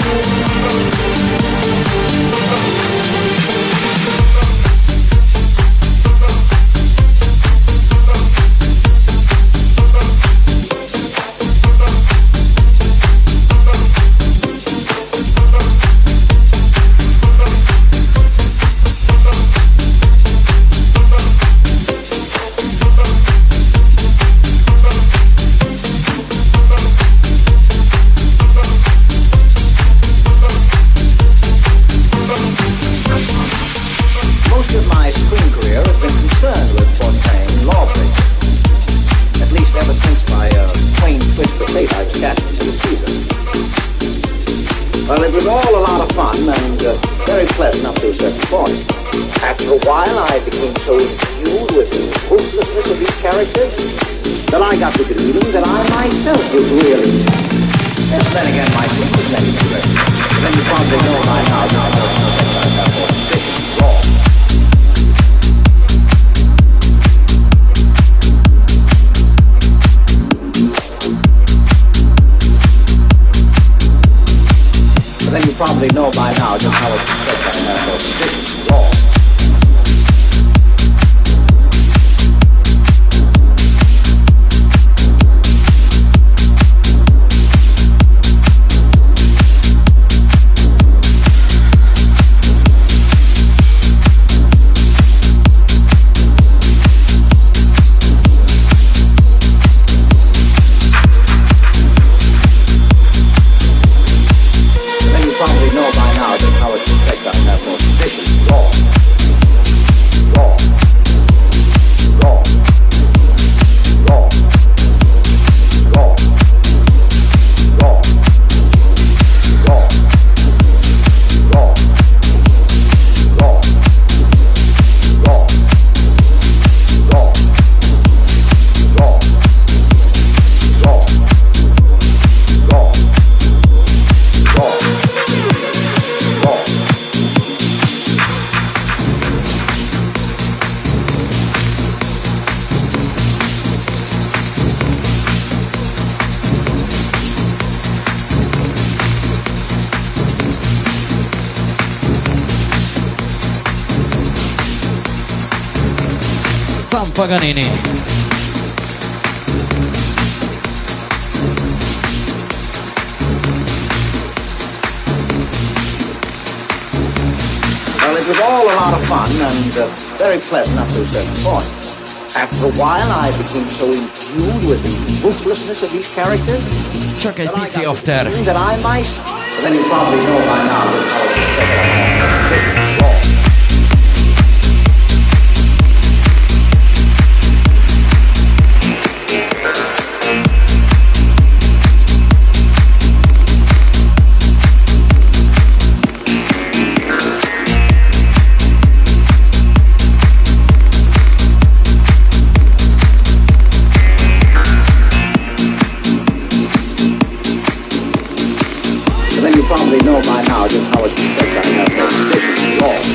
Paganini.
Well, it was all a lot of fun and uh, very pleasant up to a certain point. After a while, I became so imbued with the ruthlessness of these characters
Csak egy pici after.
that I might, but then you probably know by now that probably know by now just how it's affected I have no position at all.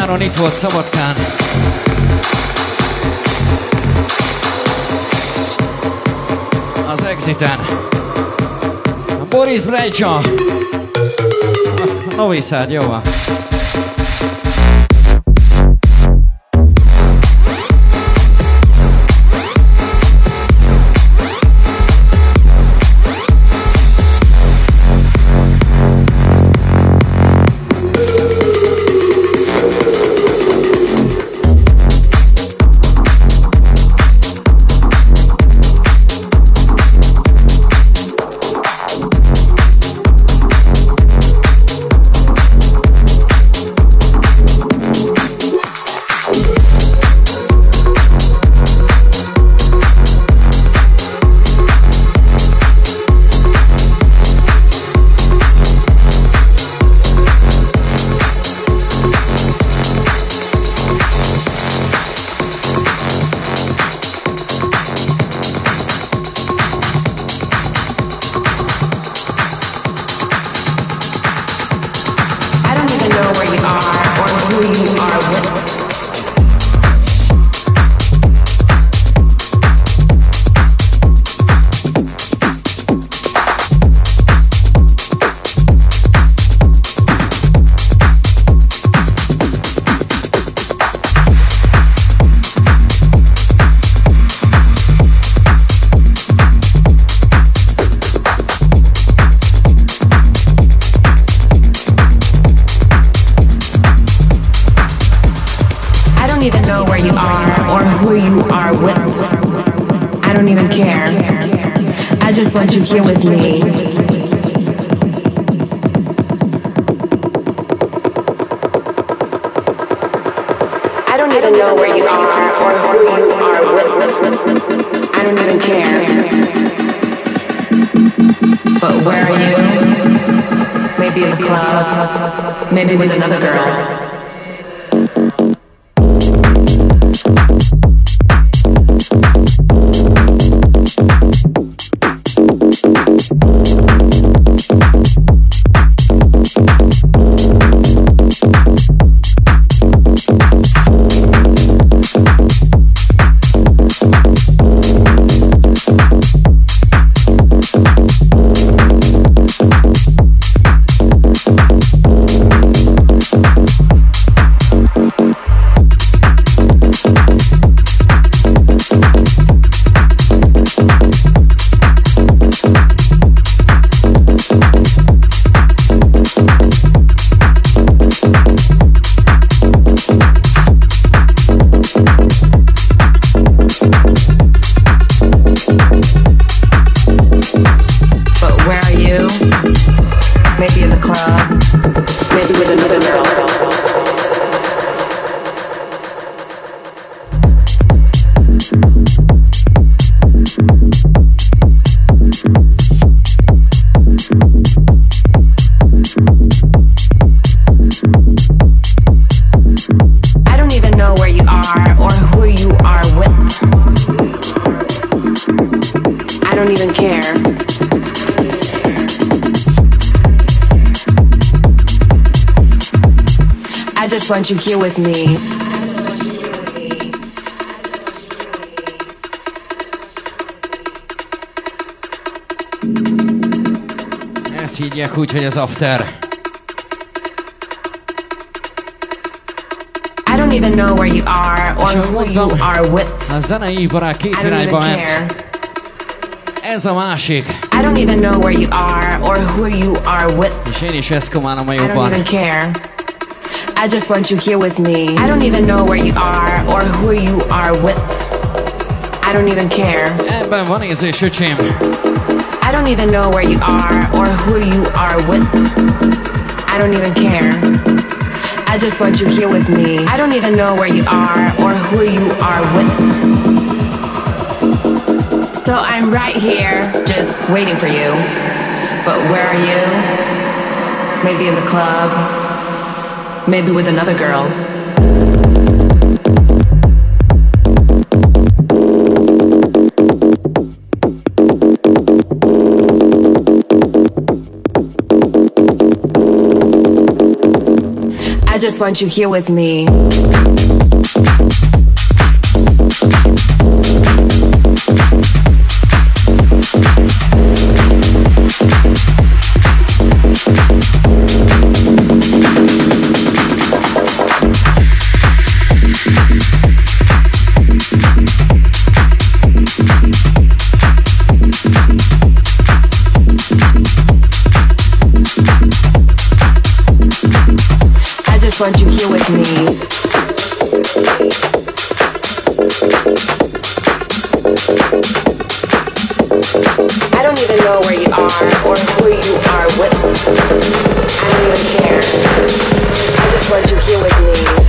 nyáron itt volt Szabadkán. Az Exiten. A Boris Brejcsa. Novi Sad, jó van.
Want you here with me?
Ezt hívják úgy, hogy az after.
I don't even know where you are or who you are with.
A zenei iparág két irányba ment. Ez a másik.
I don't even know where you are or who you are with.
És én is ezt komálom a
I
jobban.
don't even care. I just want you here with me. I don't even know where you are or who you are with. I don't even care.
Ebben van érzés, öcsém.
I don't even know where you are or who you are with. I don't even care. I just want you here with me. I don't even know where you are or who you are with. So I'm right here, just waiting for you. But where are you? Maybe in the club. Maybe with another girl. I I just want you here with me. I just want you here with me. I don't even know where you are or who you are with. I don't even care. I just want you here with me.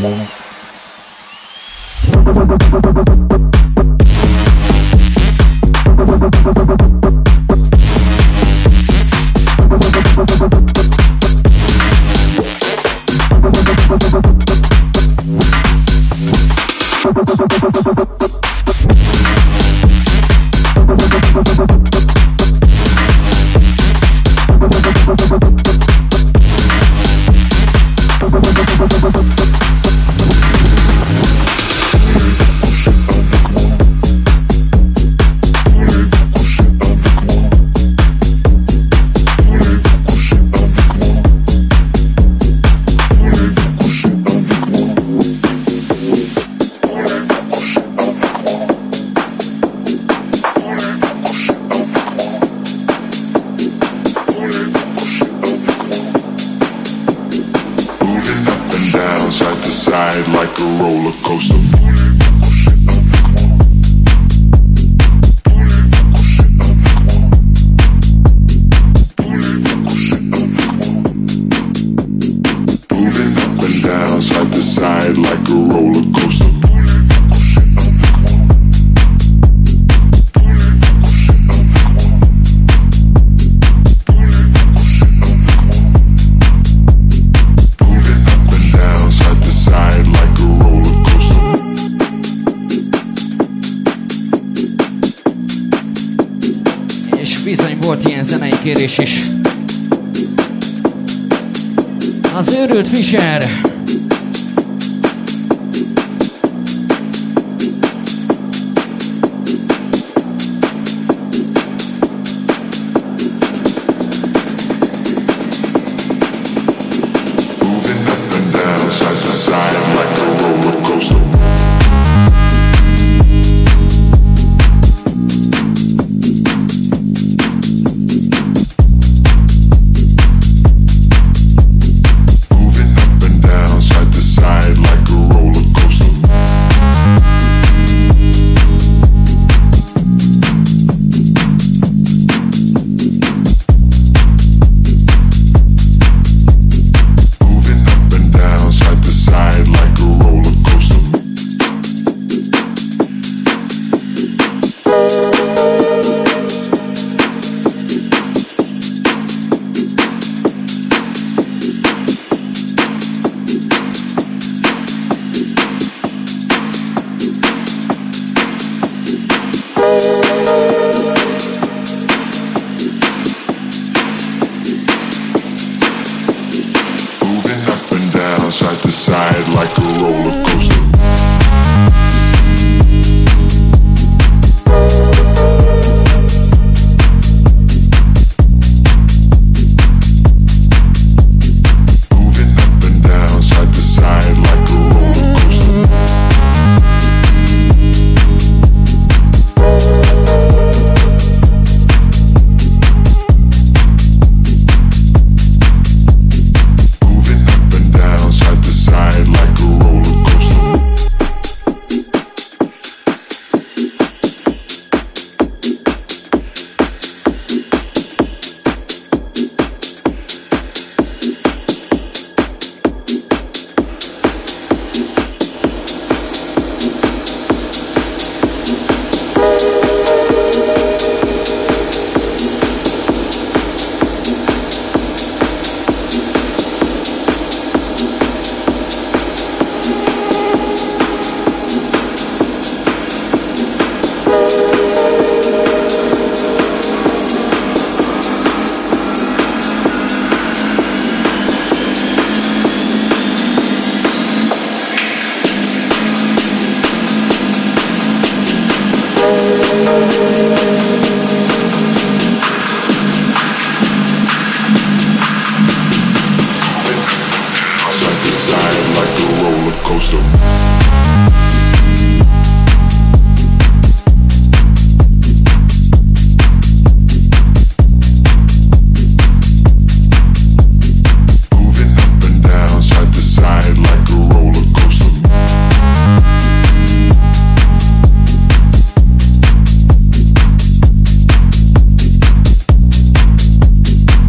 Kérés is. Az őrült Fischer.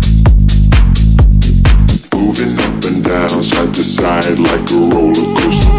Moving up and down, side to side like a roller coaster.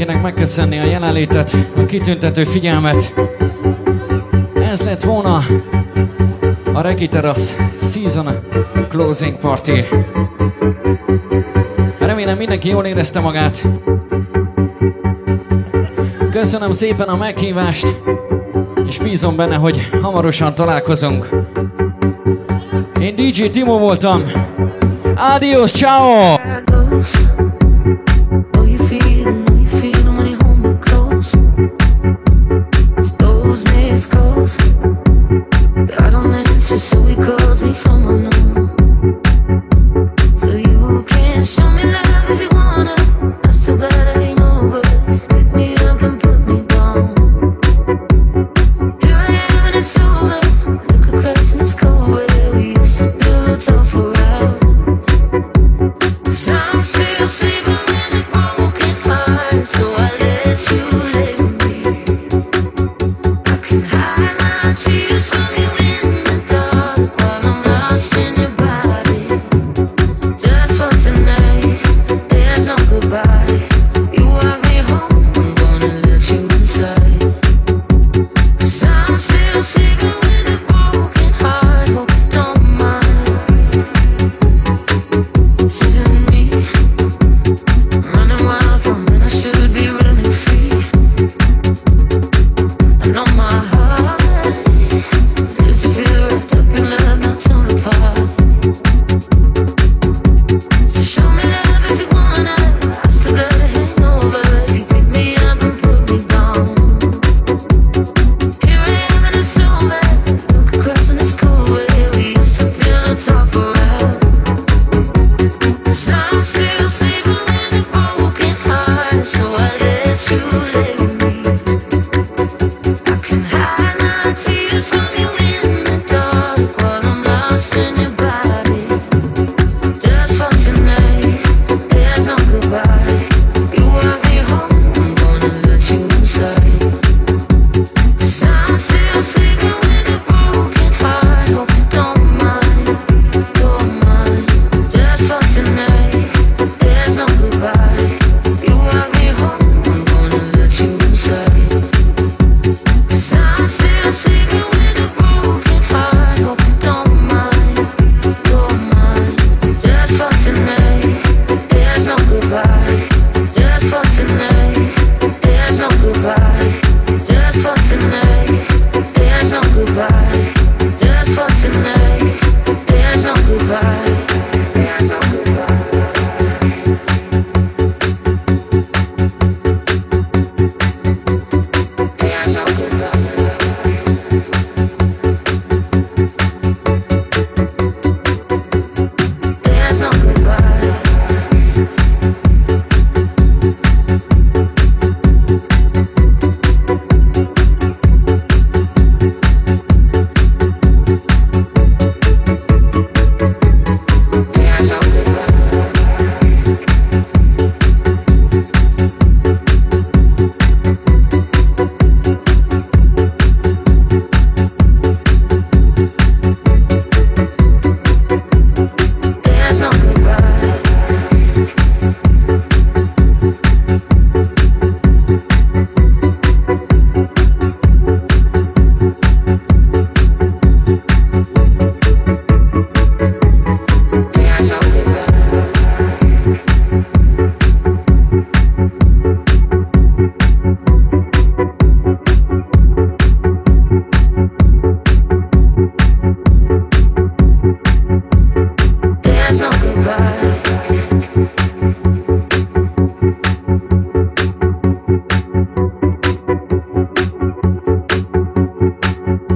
mindenkinek megköszönni a jelenlétet, a kitüntető figyelmet. Ez lett volna a Reggae Terrace Season Closing Party. Remélem mindenki jól érezte magát. Köszönöm szépen a meghívást, és bízom benne, hogy hamarosan találkozunk. Én dé dzsé Timo voltam. Adios, ciao!
So he calls me from unknown. So you can show me love if you wanna. I still gotta hang over. Just pick me up and put me down. Here I am and it's over. Look across and it's cold where we used to build a tough for hours. 'Cause I'm still sleeping with a broken heart. So I let you live with me. I can hide my tears from you.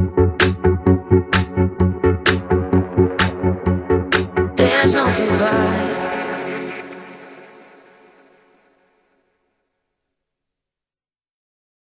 There's no goodbye.